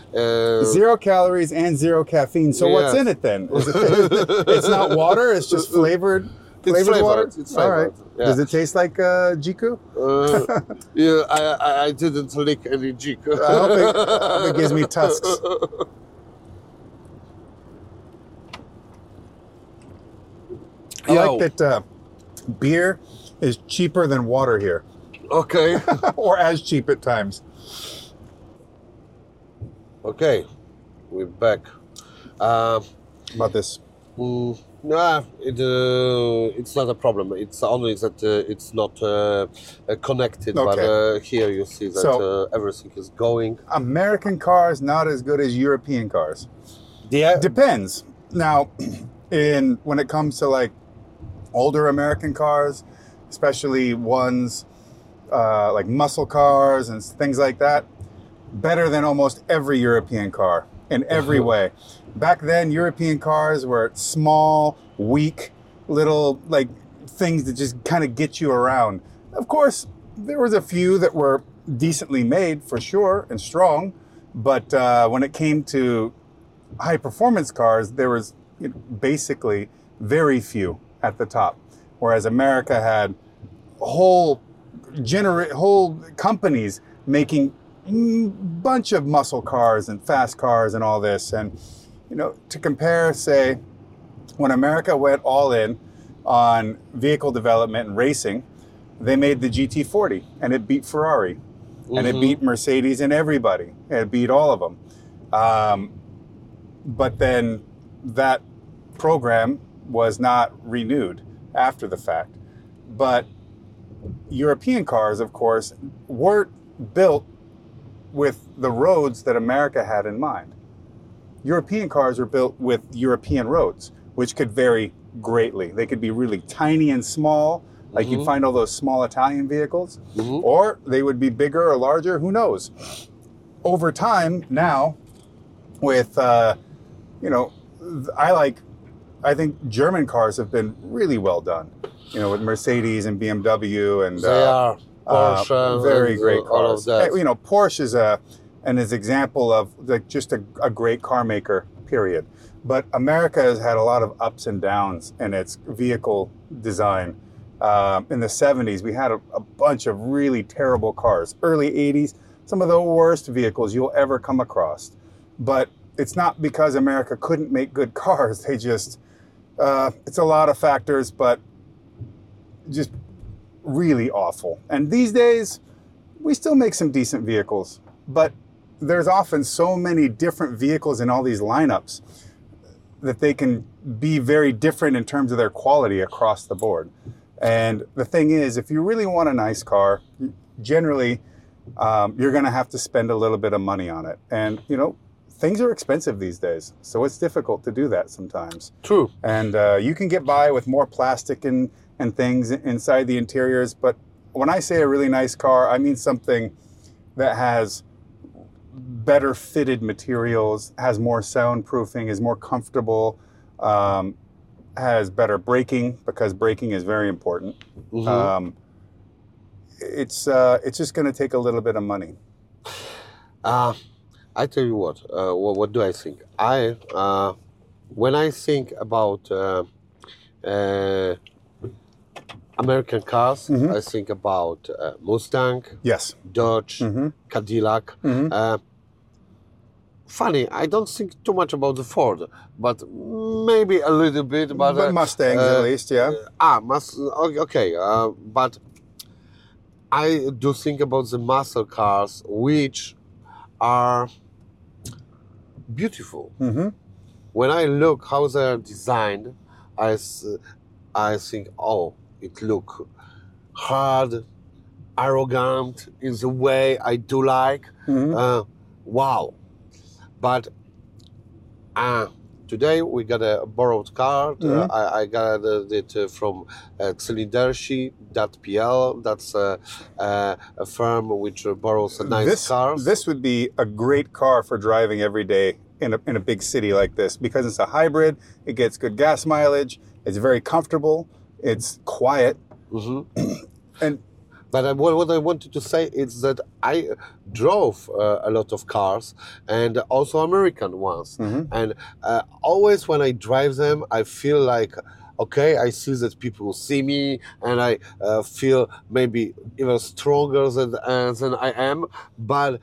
0 calories and 0 caffeine. So what's in it then? It's not water, it's just flavored. Flavored water? It's flavored. All right. Yeah. Does it taste like jiku? Yeah, I didn't lick any dzik. I hope it gives me tusks. I like that beer is cheaper than water here, Okay. or as cheap at times. Okay, we're back. About this. No, it's not a problem. It's only that it's not connected. Okay. But here you see that So- everything is going. American cars not as good as European cars. Yeah. Depends. Now, when it comes to like older American cars, especially ones like muscle cars and things like that, better than almost every European car in every way. Back then, European cars were small, weak, little like things that just kind of get you around. Of course, there was a few that were decently made for sure and strong, but when it came to high performance cars, there was basically very few at the top. Whereas America had whole companies making bunch of muscle cars and fast cars and all this. And to compare, say, when America went all in on vehicle development and racing, they made the GT40 and it beat Ferrari and it beat Mercedes and everybody. It beat all of them. But then that program was not renewed after the fact. But European cars, of course, weren't built with the roads that America had in mind. European cars were built with European roads, which could vary greatly. They could be really tiny and small, like you'd find all those small Italian vehicles, or they would be bigger or larger, who knows. Over time now, with, I think German cars have been really well done, with Mercedes and BMW and They are Porsche, very and, great all of cars. that. Porsche is an example of just a great car maker, period. But America has had a lot of ups and downs in its vehicle design. In the 70s, we had a bunch of really terrible cars. Early 80s, some of the worst vehicles you'll ever come across. But it's not because America couldn't make good cars. They just, it's a lot of factors, but just really awful. And these days, we still make some decent vehicles, but there's often so many different vehicles in all these lineups that they can be very different in terms of their quality across the board. And the thing is, if you really want a nice car, generally, you're going to have to spend a little bit of money on it. And, things are expensive these days, so it's difficult to do that sometimes. True. And you can get by with more plastic and things inside the interiors, but when I say a really nice car, I mean something that has better fitted materials, has more soundproofing, is more comfortable, has better braking, because braking is very important. It's just going to take a little bit of money. I tell you what do I think? When I think about American cars, I think about Mustang, Yes. Dodge, Cadillac. Funny, I don't think too much about the Ford, but maybe a little bit. But Mustangs, at least, yeah. Okay, but I do think about the muscle cars, which are beautiful. When I look how they are designed, I think, oh, it look hard, arrogant in the way I do like. Wow. But today we got a borrowed car. I got it from Cylindershi.pl. That's a firm which borrows nice cars. This would be a great car for driving every day in a big city like this, because it's a hybrid. It gets good gas mileage. It's very comfortable. It's quiet. But what I wanted to say is that I drove a lot of cars, and also American ones. And always when I drive them, I feel like, okay, I see that people see me, and I feel maybe even stronger than I am. But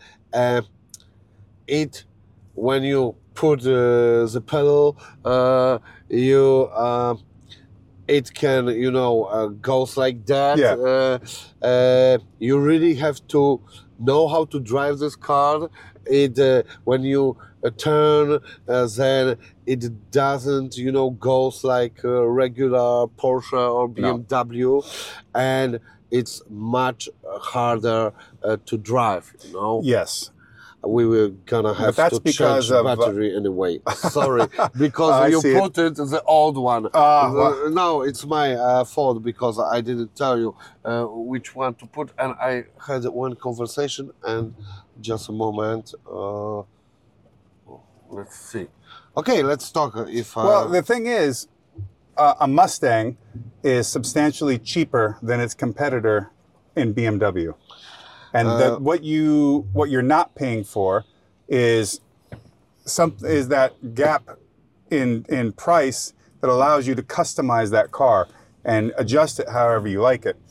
when you put the pedal, it can, goes like that. Yeah. You really have to know how to drive this car. When you turn, then it doesn't, goes like a regular Porsche or BMW, and it's much harder to drive. Yes. We were gonna have to change the battery anyway. Sorry, because you put it the old one. No, it's my fault because I didn't tell you which one to put, and I had one conversation. And just a moment. Let's see. Okay, let's talk. Well, the thing is, a Mustang is substantially cheaper than its competitor in BMW. And what you're not paying for is that gap in price that allows you to customize that car and adjust it however you like it.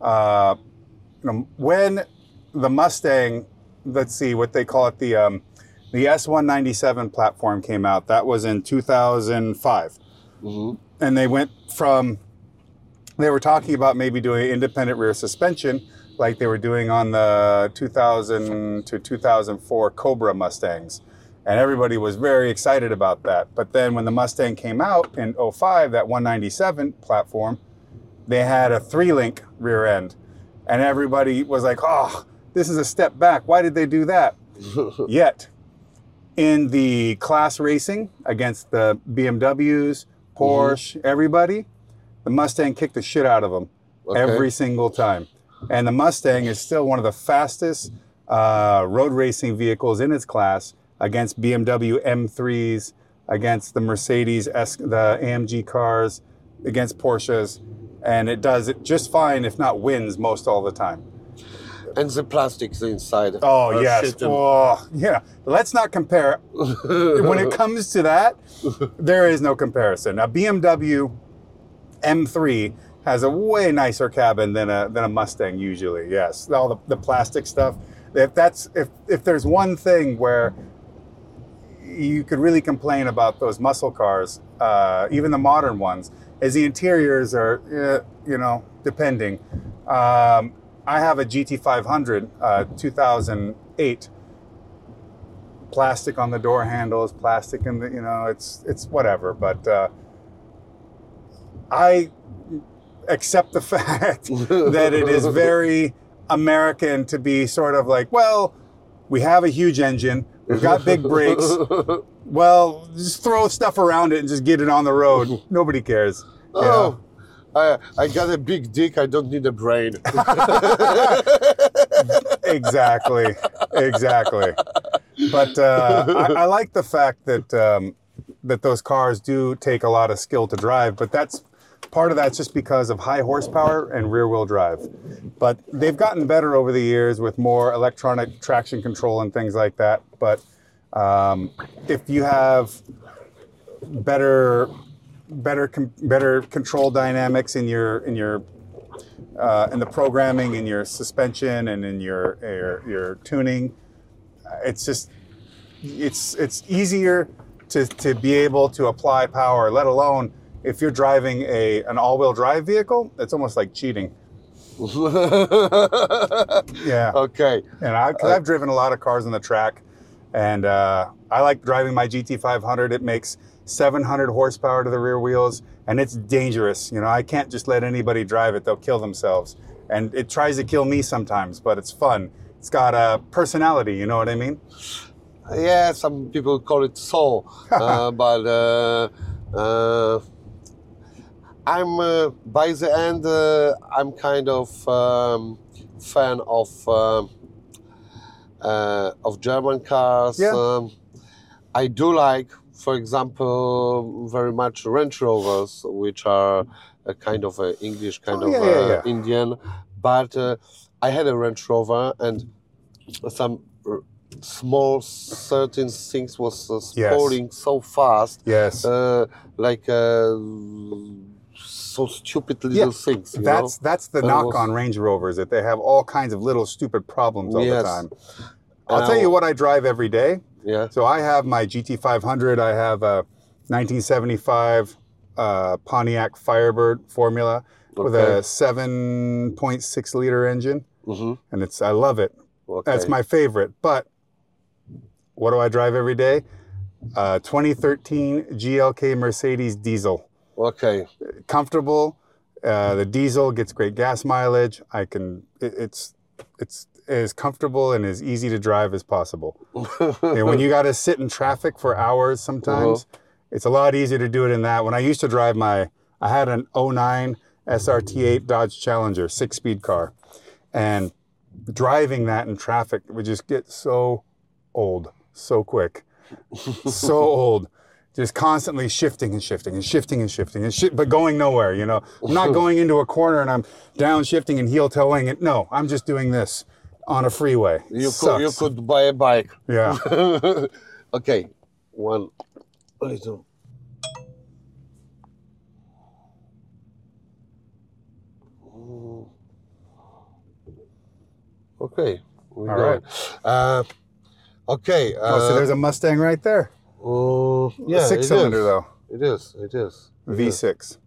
When the Mustang, let's see what they call it, the S197 platform came out. That was in 2005, and they were talking about maybe doing independent rear suspension, like they were doing on the 2000 to 2004 Cobra Mustangs. And everybody was very excited about that. But then when the Mustang came out in 05, that 197 platform, they had a 3-link rear end. And everybody was like, oh, this is a step back. Why did they do that? Yet, in the class racing against the BMWs, Porsche, everybody, the Mustang kicked the shit out of them every single time. And the Mustang is still one of the fastest road racing vehicles in its class against BMW M3s, against the Mercedes, the AMG cars, against Porsches. And it does it just fine, if not wins most all the time. And the plastics inside. Oh, yes. Oh, yeah. Let's not compare. When it comes to that, there is no comparison. A BMW M3 has a way nicer cabin than a Mustang usually. Yes, all the plastic stuff. If there's one thing where you could really complain about those muscle cars, even the modern ones, is the interiors are, depending. I have a GT500, 2008. Plastic on the door handles, plastic in the, it's whatever. But I accept the fact that it is very American to be sort of like, well, we have a huge engine, we've got big brakes, well, just throw stuff around it and just get it on the road. Nobody cares. Oh, I got a big dick, I don't need a brain. Exactly. But I like the fact that that those cars do take a lot of skill to drive, but part of that's just because of high horsepower and rear-wheel drive. But they've gotten better over the years with more electronic traction control and things like that. But if you have better control dynamics in the programming, in your suspension, and in your tuning, it's easier to be able to apply power, let alone if you're driving an all-wheel drive vehicle, it's almost like cheating. Yeah. Okay. And I've driven a lot of cars on the track, and I like driving my GT500. It makes 700 horsepower to the rear wheels, and it's dangerous. I can't just let anybody drive it. They'll kill themselves. And it tries to kill me sometimes, but it's fun. It's got a personality, you know what I mean? Yeah, some people call it soul, but I'm by the end I'm kind of fan of German cars. Yeah. I do like, for example, very much Range Rovers, which are a kind of English, Indian. But I had a Range Rover, and some small certain things was spoiling so fast. Yes. So stupid little things. That's the knock on Range Rovers, that they have all kinds of little stupid problems all the time. I'll tell you what I drive every day. Yeah. So I have my GT500. I have a 1975 Pontiac Firebird Formula with Okay. a 7.6 liter engine, and I love it. Okay. That's my favorite. But what do I drive every day? 2013 GLK Mercedes diesel. Okay. Comfortable. The diesel gets great gas mileage. It's as comfortable and as easy to drive as possible. And when you got to sit in traffic for hours sometimes, it's a lot easier to do it in that. When I used to drive I had an 09 SRT8 Dodge Challenger 6-speed car, and driving that in traffic would just get so old so quick. So old. Just constantly shifting and shifting and shifting and shifting but going nowhere, you know. I'm not going into a corner and I'm downshifting and heel-toeing it. No, I'm just doing this on a freeway. You could buy a bike. Yeah. Okay. One little. Okay. All right. Okay. So there's a Mustang right there. Yeah, a 6-cylinder though. It is. V6.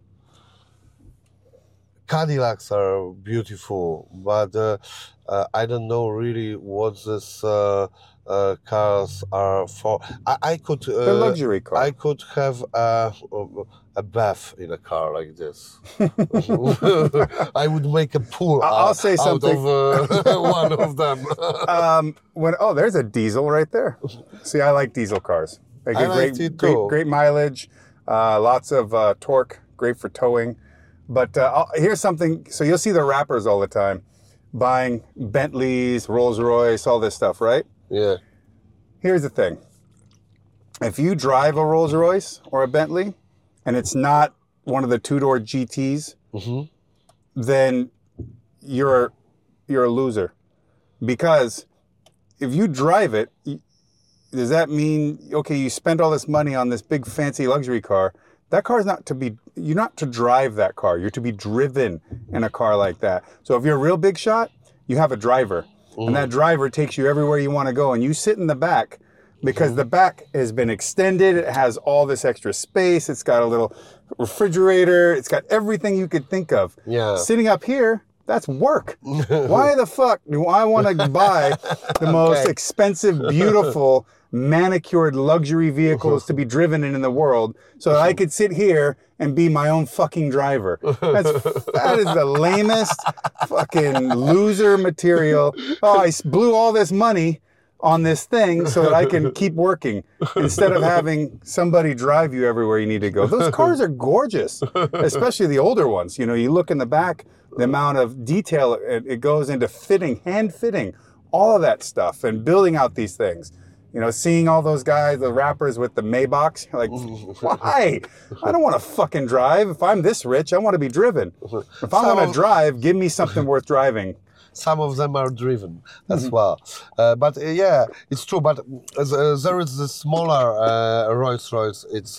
Cadillacs are beautiful, but I don't know really what these cars are for. I could. They're luxury cars. I could have a bath in a car like this. I would make a pool. I'll say something. Out of one of them. There's a diesel right there. See, I like diesel cars. They get great mileage, lots of torque, great for towing. But here's something. So you'll see the rappers all the time buying Bentleys, Rolls-Royce, all this stuff, right? Yeah. Here's the thing. If you drive a Rolls-Royce or a Bentley and it's not one of the two-door GTs, then you're a loser. Because if you drive it, does that mean, okay, you spend all this money on this big fancy luxury car? That car is you're not to drive that car. You're to be driven in a car like that. So if you're a real big shot, you have a driver. And that driver takes you everywhere you want to go. And you sit in the back because the back has been extended. It has all this extra space. It's got a little refrigerator. It's got everything you could think of. Yeah. Sitting up here, that's work. Why the fuck do I want to buy the most expensive, beautiful, manicured luxury vehicles to be driven in the world so that I could sit here and be my own fucking driver? That is the lamest fucking loser material. Oh, I blew all this money on this thing so that I can keep working instead of having somebody drive you everywhere you need to go. Those cars are gorgeous, especially the older ones. You know, you look in the back, the amount of detail it goes into fitting, hand fitting, all of that stuff and building out these things. You know, seeing all those guys, the rappers with the Maybachs, you're like, why? I don't want to fucking drive. If I'm this rich, I want to be driven. If I want to drive, give me something worth driving. Some of them are driven as well. But yeah, it's true. But there is the smaller Rolls-Royce. It's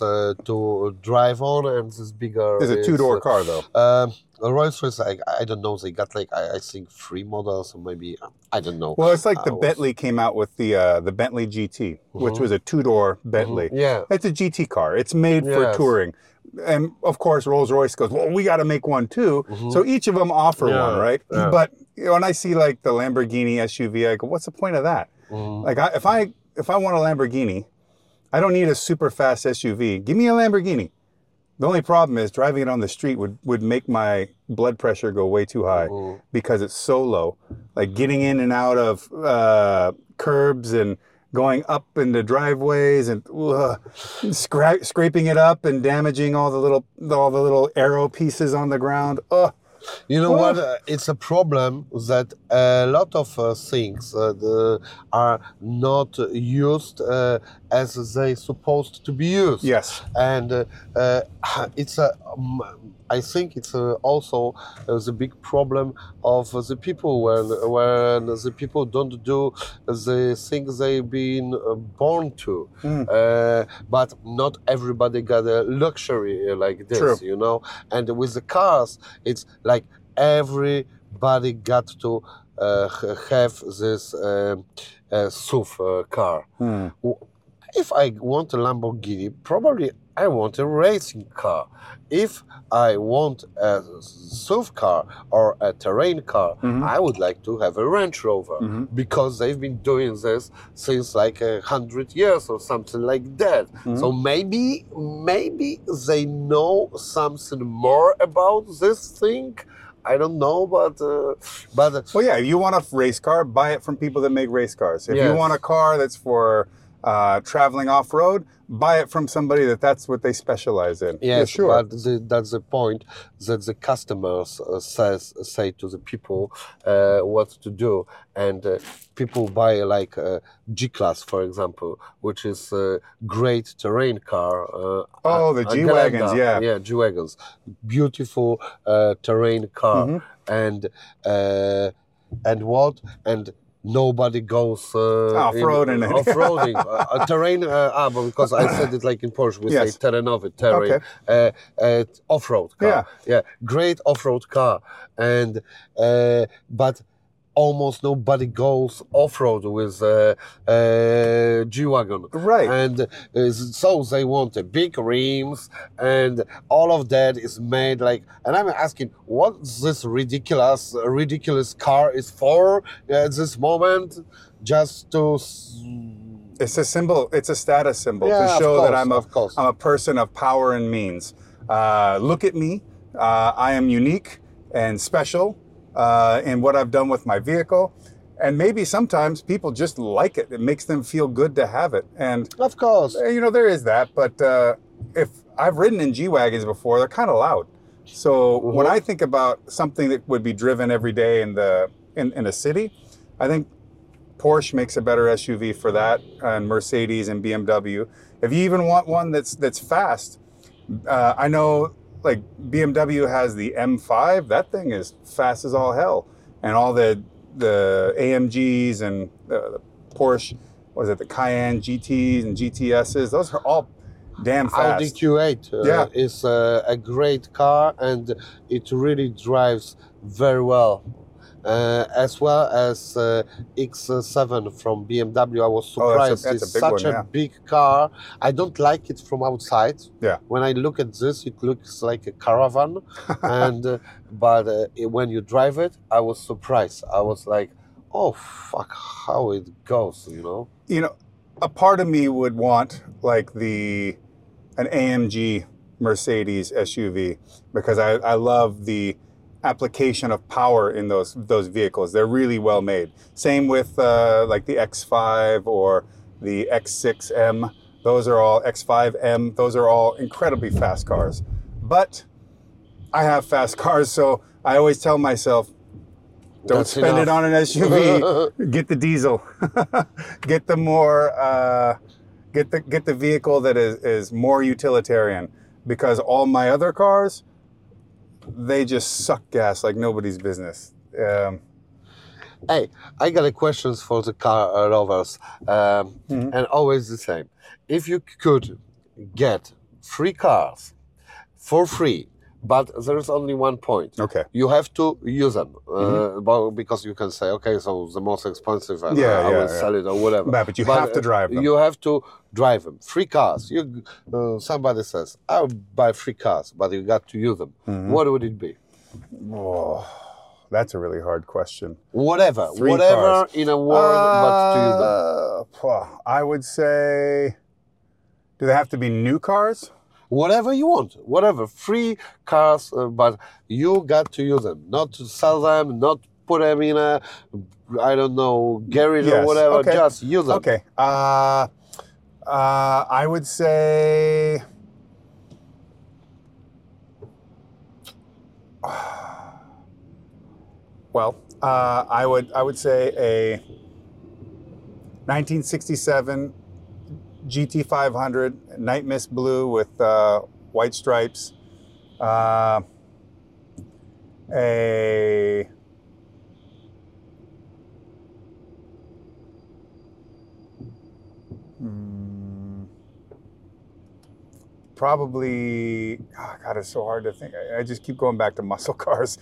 to drive on, and this bigger. It's a two-door car, though. Rolls-Royce, I don't know. They got like I think 3 models, or maybe I don't know. Well, it's like the Bentley came out with the Bentley GT, which was a two-door Bentley. Yeah, it's a GT car. It's made for touring. And of course, Rolls-Royce goes, well, we got to make one too. So each of them offer one, right? Yeah. But you know, when I see like the Lamborghini SUV, I go, what's the point of that? Like, if I want a Lamborghini, I don't need a super fast SUV. Give me a Lamborghini. The only problem is driving it on the street would make my blood pressure go way too high because it's so low. Like getting in and out of curbs and going up into driveways and scraping it up and damaging all the little arrow pieces on the ground. You know what? It's a problem that a lot of things are not used as they supposed to be used. Yes, and it's a. I think it's also the big problem of the people when the people don't do the things they've been born to. But not everybody got a luxury like this, True. you know. And with the cars, it's like everybody got to have this SUV car. If I want a Lamborghini, probably I want a racing car. If I want a SUV car or a terrain car, I would like to have a Range Rover because they've been doing this since like 100 years or something like that. So maybe they know something more about this thing. I don't know, but Well, yeah, if you want a race car, buy it from people that make race cars. If you Yes. want a car that's for traveling off road, buy it from somebody that's what they specialize in. yes, Yeah, sure. but that's the point that the customers say to the people what to do, and people buy like a G-Class, for example, which is a great terrain car. Oh, the a G-Wagons, Gelände, yeah. G-Wagons, beautiful terrain car, Mm-hmm. and what and. Nobody goes Off-roading it. off-roading terrain. But because I said it like in Porsche, we Yes. say terenowy, terrain, off-road car. Yeah, great off-road car, and but almost nobody goes off-road with G-Wagon. Right. And so they want big rims, and all of that is made like. And I'm asking, what this ridiculous car is for at this moment? Just to. It's a symbol. It's a status symbol Yeah, to of show that course. I'm a person of power and means. Look at me. I am unique and special in what I've done with my vehicle. And maybe sometimes people just like it. It makes them feel good to have it. And Of course. there is that. But if I've ridden in G-Wagons before, they're kind of loud. So when I think about something that would be driven every day in a city, I think Porsche makes a better SUV for that, and Mercedes and BMW. If you even want one that's fast, I know like BMW has the M5. That thing is fast as all hell, and all the AMGs and the Porsche, what is it, the Cayenne GTs and GTSs? Those are all damn fast. Audi Q8 is a great car, and it really drives very well. As well as X7 from BMW. I was surprised. that's a It's big such one, a yeah. big car. I don't like it from outside. Yeah. When I look at this, it looks like a caravan, and but when you drive it, I was surprised. I was like, oh fuck, how it goes, A part of me would want like an AMG Mercedes SUV because I love the application of power in those vehicles. They're really well made. Same with like the X5 or the X6M. Those are all X5M. Those are all incredibly fast cars. But I have fast cars, so I always tell myself, don't That's spend it enough. on an SUV. Get the diesel. Get the more get the vehicle that is more utilitarian. Because all my other cars, they just suck gas like nobody's business. Hey, I got a questions for the car lovers, and always the same. If you could get 3 cars for free, but there's only one point. Okay. You have to use them, because you can say, okay, so the most expensive, I will sell it or whatever. But you have to drive them. You have to drive them. 3 cars. Somebody says, I'll buy 3 cars, but you got to use them. What would it be? Oh, that's a really hard question. Whatever 3 cars. In a world, but to use them. I would say, do they have to be new cars? Whatever you want, whatever. 3 cars, but you got to use them. Not to sell them, not put them in a, I don't know, garage or whatever. Okay. Just use them. Okay. I would say, well, I would say a 1967 GT500 Night Mist Blue with white stripes. Probably, oh God, it's so hard to think. I just keep going back to muscle cars.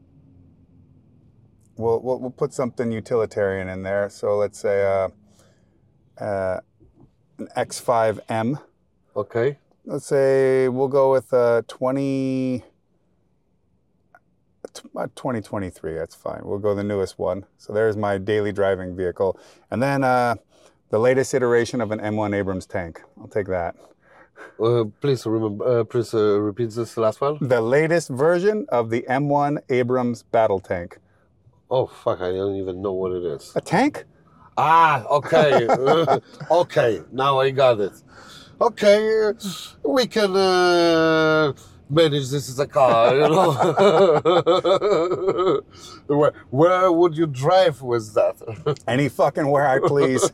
We'll put something utilitarian in there. So let's say an X5M. Okay. Let's say we'll go with 2023. That's fine. We'll go the newest one. So there's my daily driving vehicle. And then the latest iteration of an M1 Abrams tank. I'll take that. Please repeat this last one. The latest version of the M1 Abrams battle tank. Oh, fuck, I don't even know what it is. A tank? Ah, okay. Okay, now I got it. Okay, we can manage this as a car, you know. Where would you drive with that? Any fucking where I please.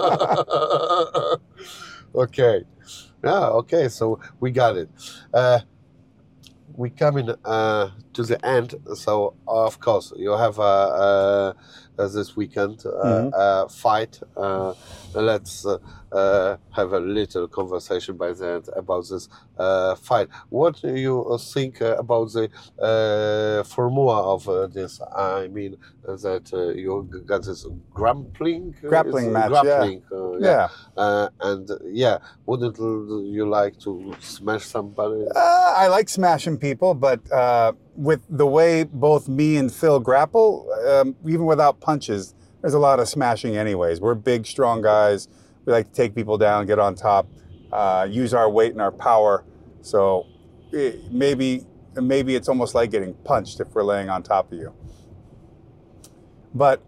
Okay. Yeah, okay, so we got it. We coming to the end, so of course you have this weekend a fight. Let's have a little conversation by the end about this fight. What do you think about the formula of this? I mean that you got this grappling match, yeah. And yeah, wouldn't you like to smash somebody? I like smashing people, but with the way both me and Phil grapple, even without punches, there's a lot of smashing anyways. We're big, strong guys. We like to take people down, get on top, use our weight and our power. So maybe it's almost like getting punched if we're laying on top of you. But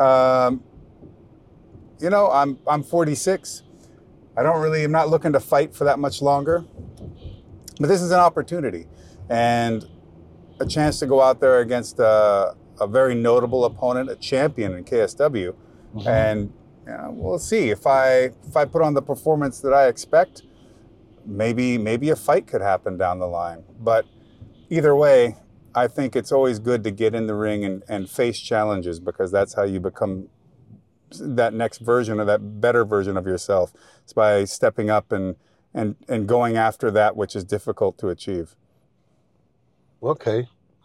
you know, I'm 46. I'm not looking to fight for that much longer. But this is an opportunity and a chance to go out there against a very notable opponent, a champion in KSW. Mm-hmm. And we'll see if I put on the performance that I expect, maybe a fight could happen down the line. But either way, I think it's always good to get in the ring and face challenges, because that's how you become that next version or that better version of yourself. It's by stepping up and going after that which is difficult to achieve. Okay.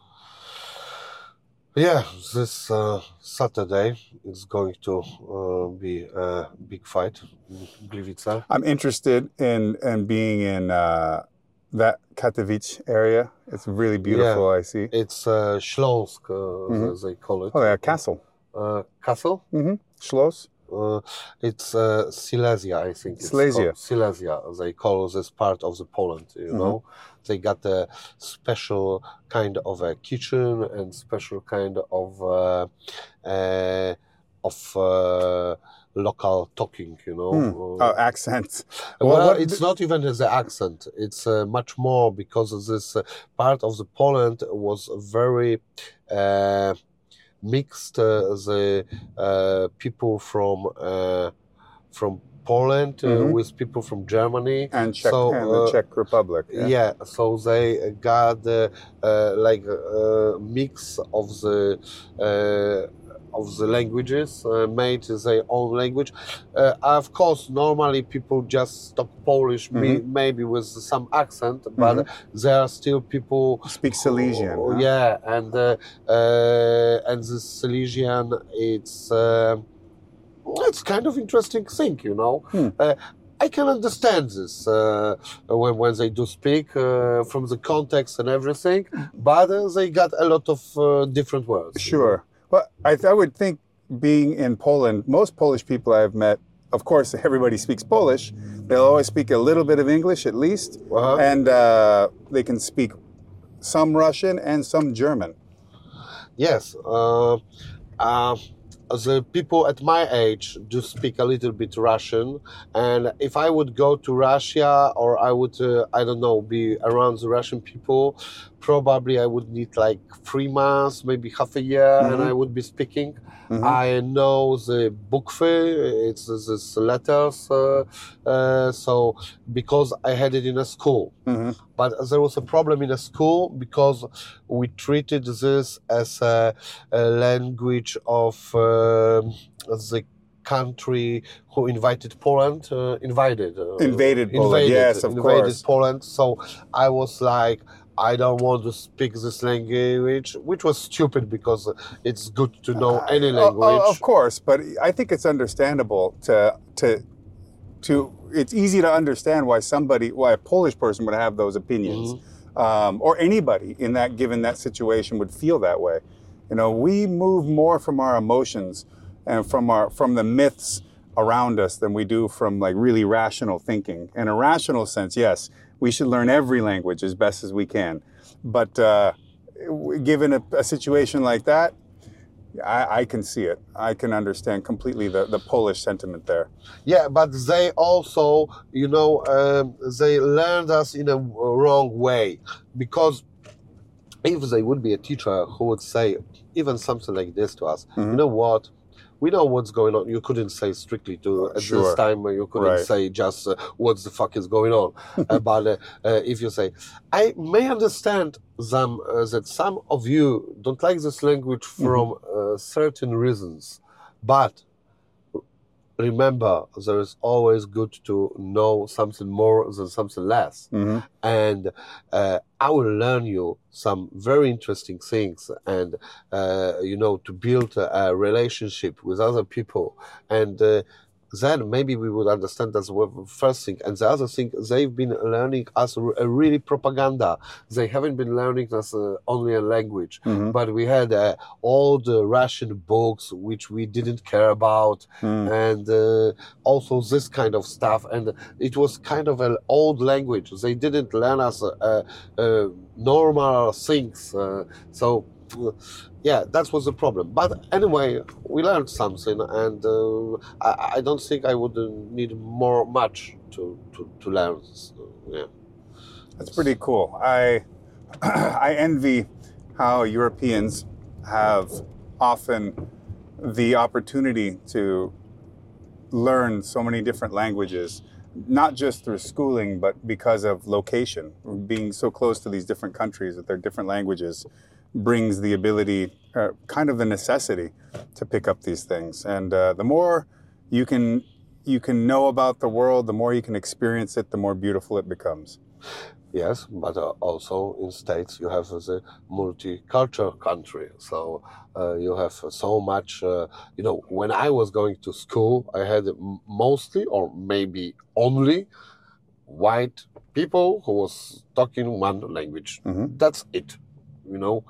Yeah, this Saturday is going to be a big fight in Gliwice. I'm interested in being in that Katowice area. It's really beautiful, I see. It's Śląsk, they call it. Oh, yeah, castle. Castle? Mm-hmm. Schloss? It's Silesia, I think. Silesia, they call this part of the Poland, you know. They got a special kind of a kitchen and special kind of local talking, you know. Accents. Well, it's not even the accent. It's much more because this part of the Poland was very mixed. The people from Poland with people from Germany and the Czech Republic. Yeah, so they got like a mix of the languages, made their own language. Of course, normally people just talk Polish, maybe with some accent, but there are still people who speak Silesian. Yeah, and this Silesian, it's kind of interesting thing, you know. I can understand this when they do speak from the context and everything, but they got a lot of different words. Sure. Well, I would think being in Poland, most Polish people I've met, of course, everybody speaks Polish. They'll always speak a little bit of English at least, and they can speak some Russian and some German. Yes. The people at my age do speak a little bit Russian, and if I would go to Russia, or I would, I don't know, be around the Russian people, probably I would need like 3 months, maybe half a year, and I would be speaking. I know the bukwy, it's this letters, so because I had it in a school. But there was a problem in a school because we treated this as a language of the country who invited Poland, invaded Poland, yes, of course. Poland. So I was like, I don't want to speak this language, which was stupid because it's good to know any language. Of course, but I think it's understandable to it's easy to understand why a Polish person would have those opinions, or anybody in that situation would feel that way. You know, we move more from our emotions and from the myths around us than we do from like really rational thinking. In a rational sense, yes, we should learn every language as best as we can. But given a situation like that, I can see it. I can understand completely the Polish sentiment there. Yeah, but they also, you know, they learned us in a wrong way, because if they would be a teacher who would say even something like this to us, you know what? We know what's going on. You couldn't say strictly at this time. You couldn't say just what the fuck is going on. But if you say, I may understand them, that some of you don't like this language from certain reasons, but remember, there is always good to know something more than something less. And I will learn you some very interesting things, and you know, to build a relationship with other people, and then maybe we would understand that's the first thing. And the other thing, they've been learning us a really propaganda. They haven't been learning us only a language, but we had all the Russian books which we didn't care about, and also this kind of stuff. And it was kind of an old language. They didn't learn us normal things. So yeah, that was the problem. But anyway, we learned something, and I don't think I would need much to learn. So, yeah, that's pretty cool. I envy how Europeans have often the opportunity to learn so many different languages, not just through schooling, but because of location. Being so close to these different countries with their different languages brings the ability, kind of the necessity, to pick up these things. And the more you can know about the world, the more you can experience it, the more beautiful it becomes. Yes, but also in States you have the multicultural country. So you have so much, you know, when I was going to school, I had mostly, or maybe only, white people who was talking one language. That's it, you know.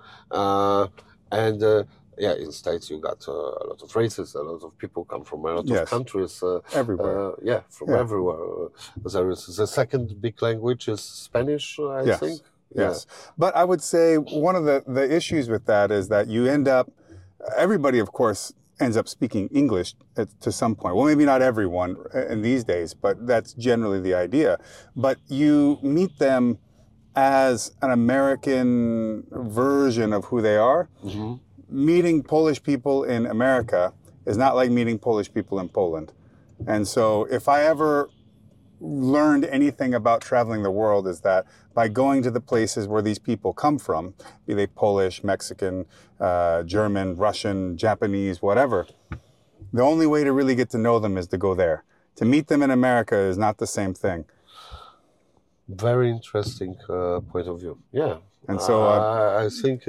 Yeah, in States you got a lot of races, a lot of people come from a lot of countries. Everywhere. Everywhere. There is the second big language is Spanish, I think. Yes. But I would say one of the issues with that is that you end up, everybody of course ends up speaking English to some point. Well, maybe not everyone in these days, but that's generally the idea. But you meet them as an American version of who they are. Meeting Polish people in America is not like meeting Polish people in Poland. And so if I ever learned anything about traveling the world, is that by going to the places where these people come from, be they Polish, Mexican, German, Russian, Japanese, whatever, the only way to really get to know them is to go there. To meet them in America is not the same thing. Very interesting point of view. Yeah. And so I think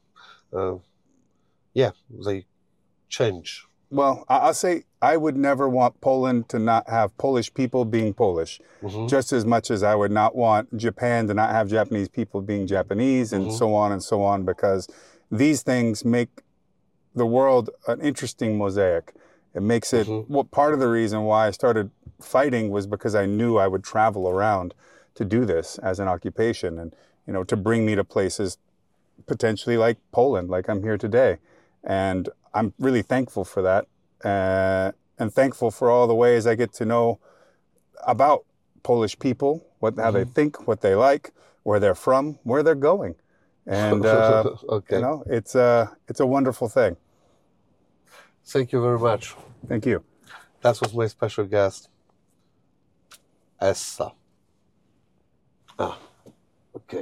they change. Well, I'll say I would never want Poland to not have Polish people being Polish, just as much as I would not want Japan to not have Japanese people being Japanese, and so on, because these things make the world an interesting mosaic. It makes it, well, part of the reason why I started fighting was because I knew I would travel around to do this as an occupation, and, you know, to bring me to places potentially like Poland, like I'm here today. And I'm really thankful for that, and thankful for all the ways I get to know about Polish people, how they think, what they like, where they're from, where they're going. And, you know, it's a wonderful thing. Thank you very much. Thank you. That was my special guest, Essa. Okay.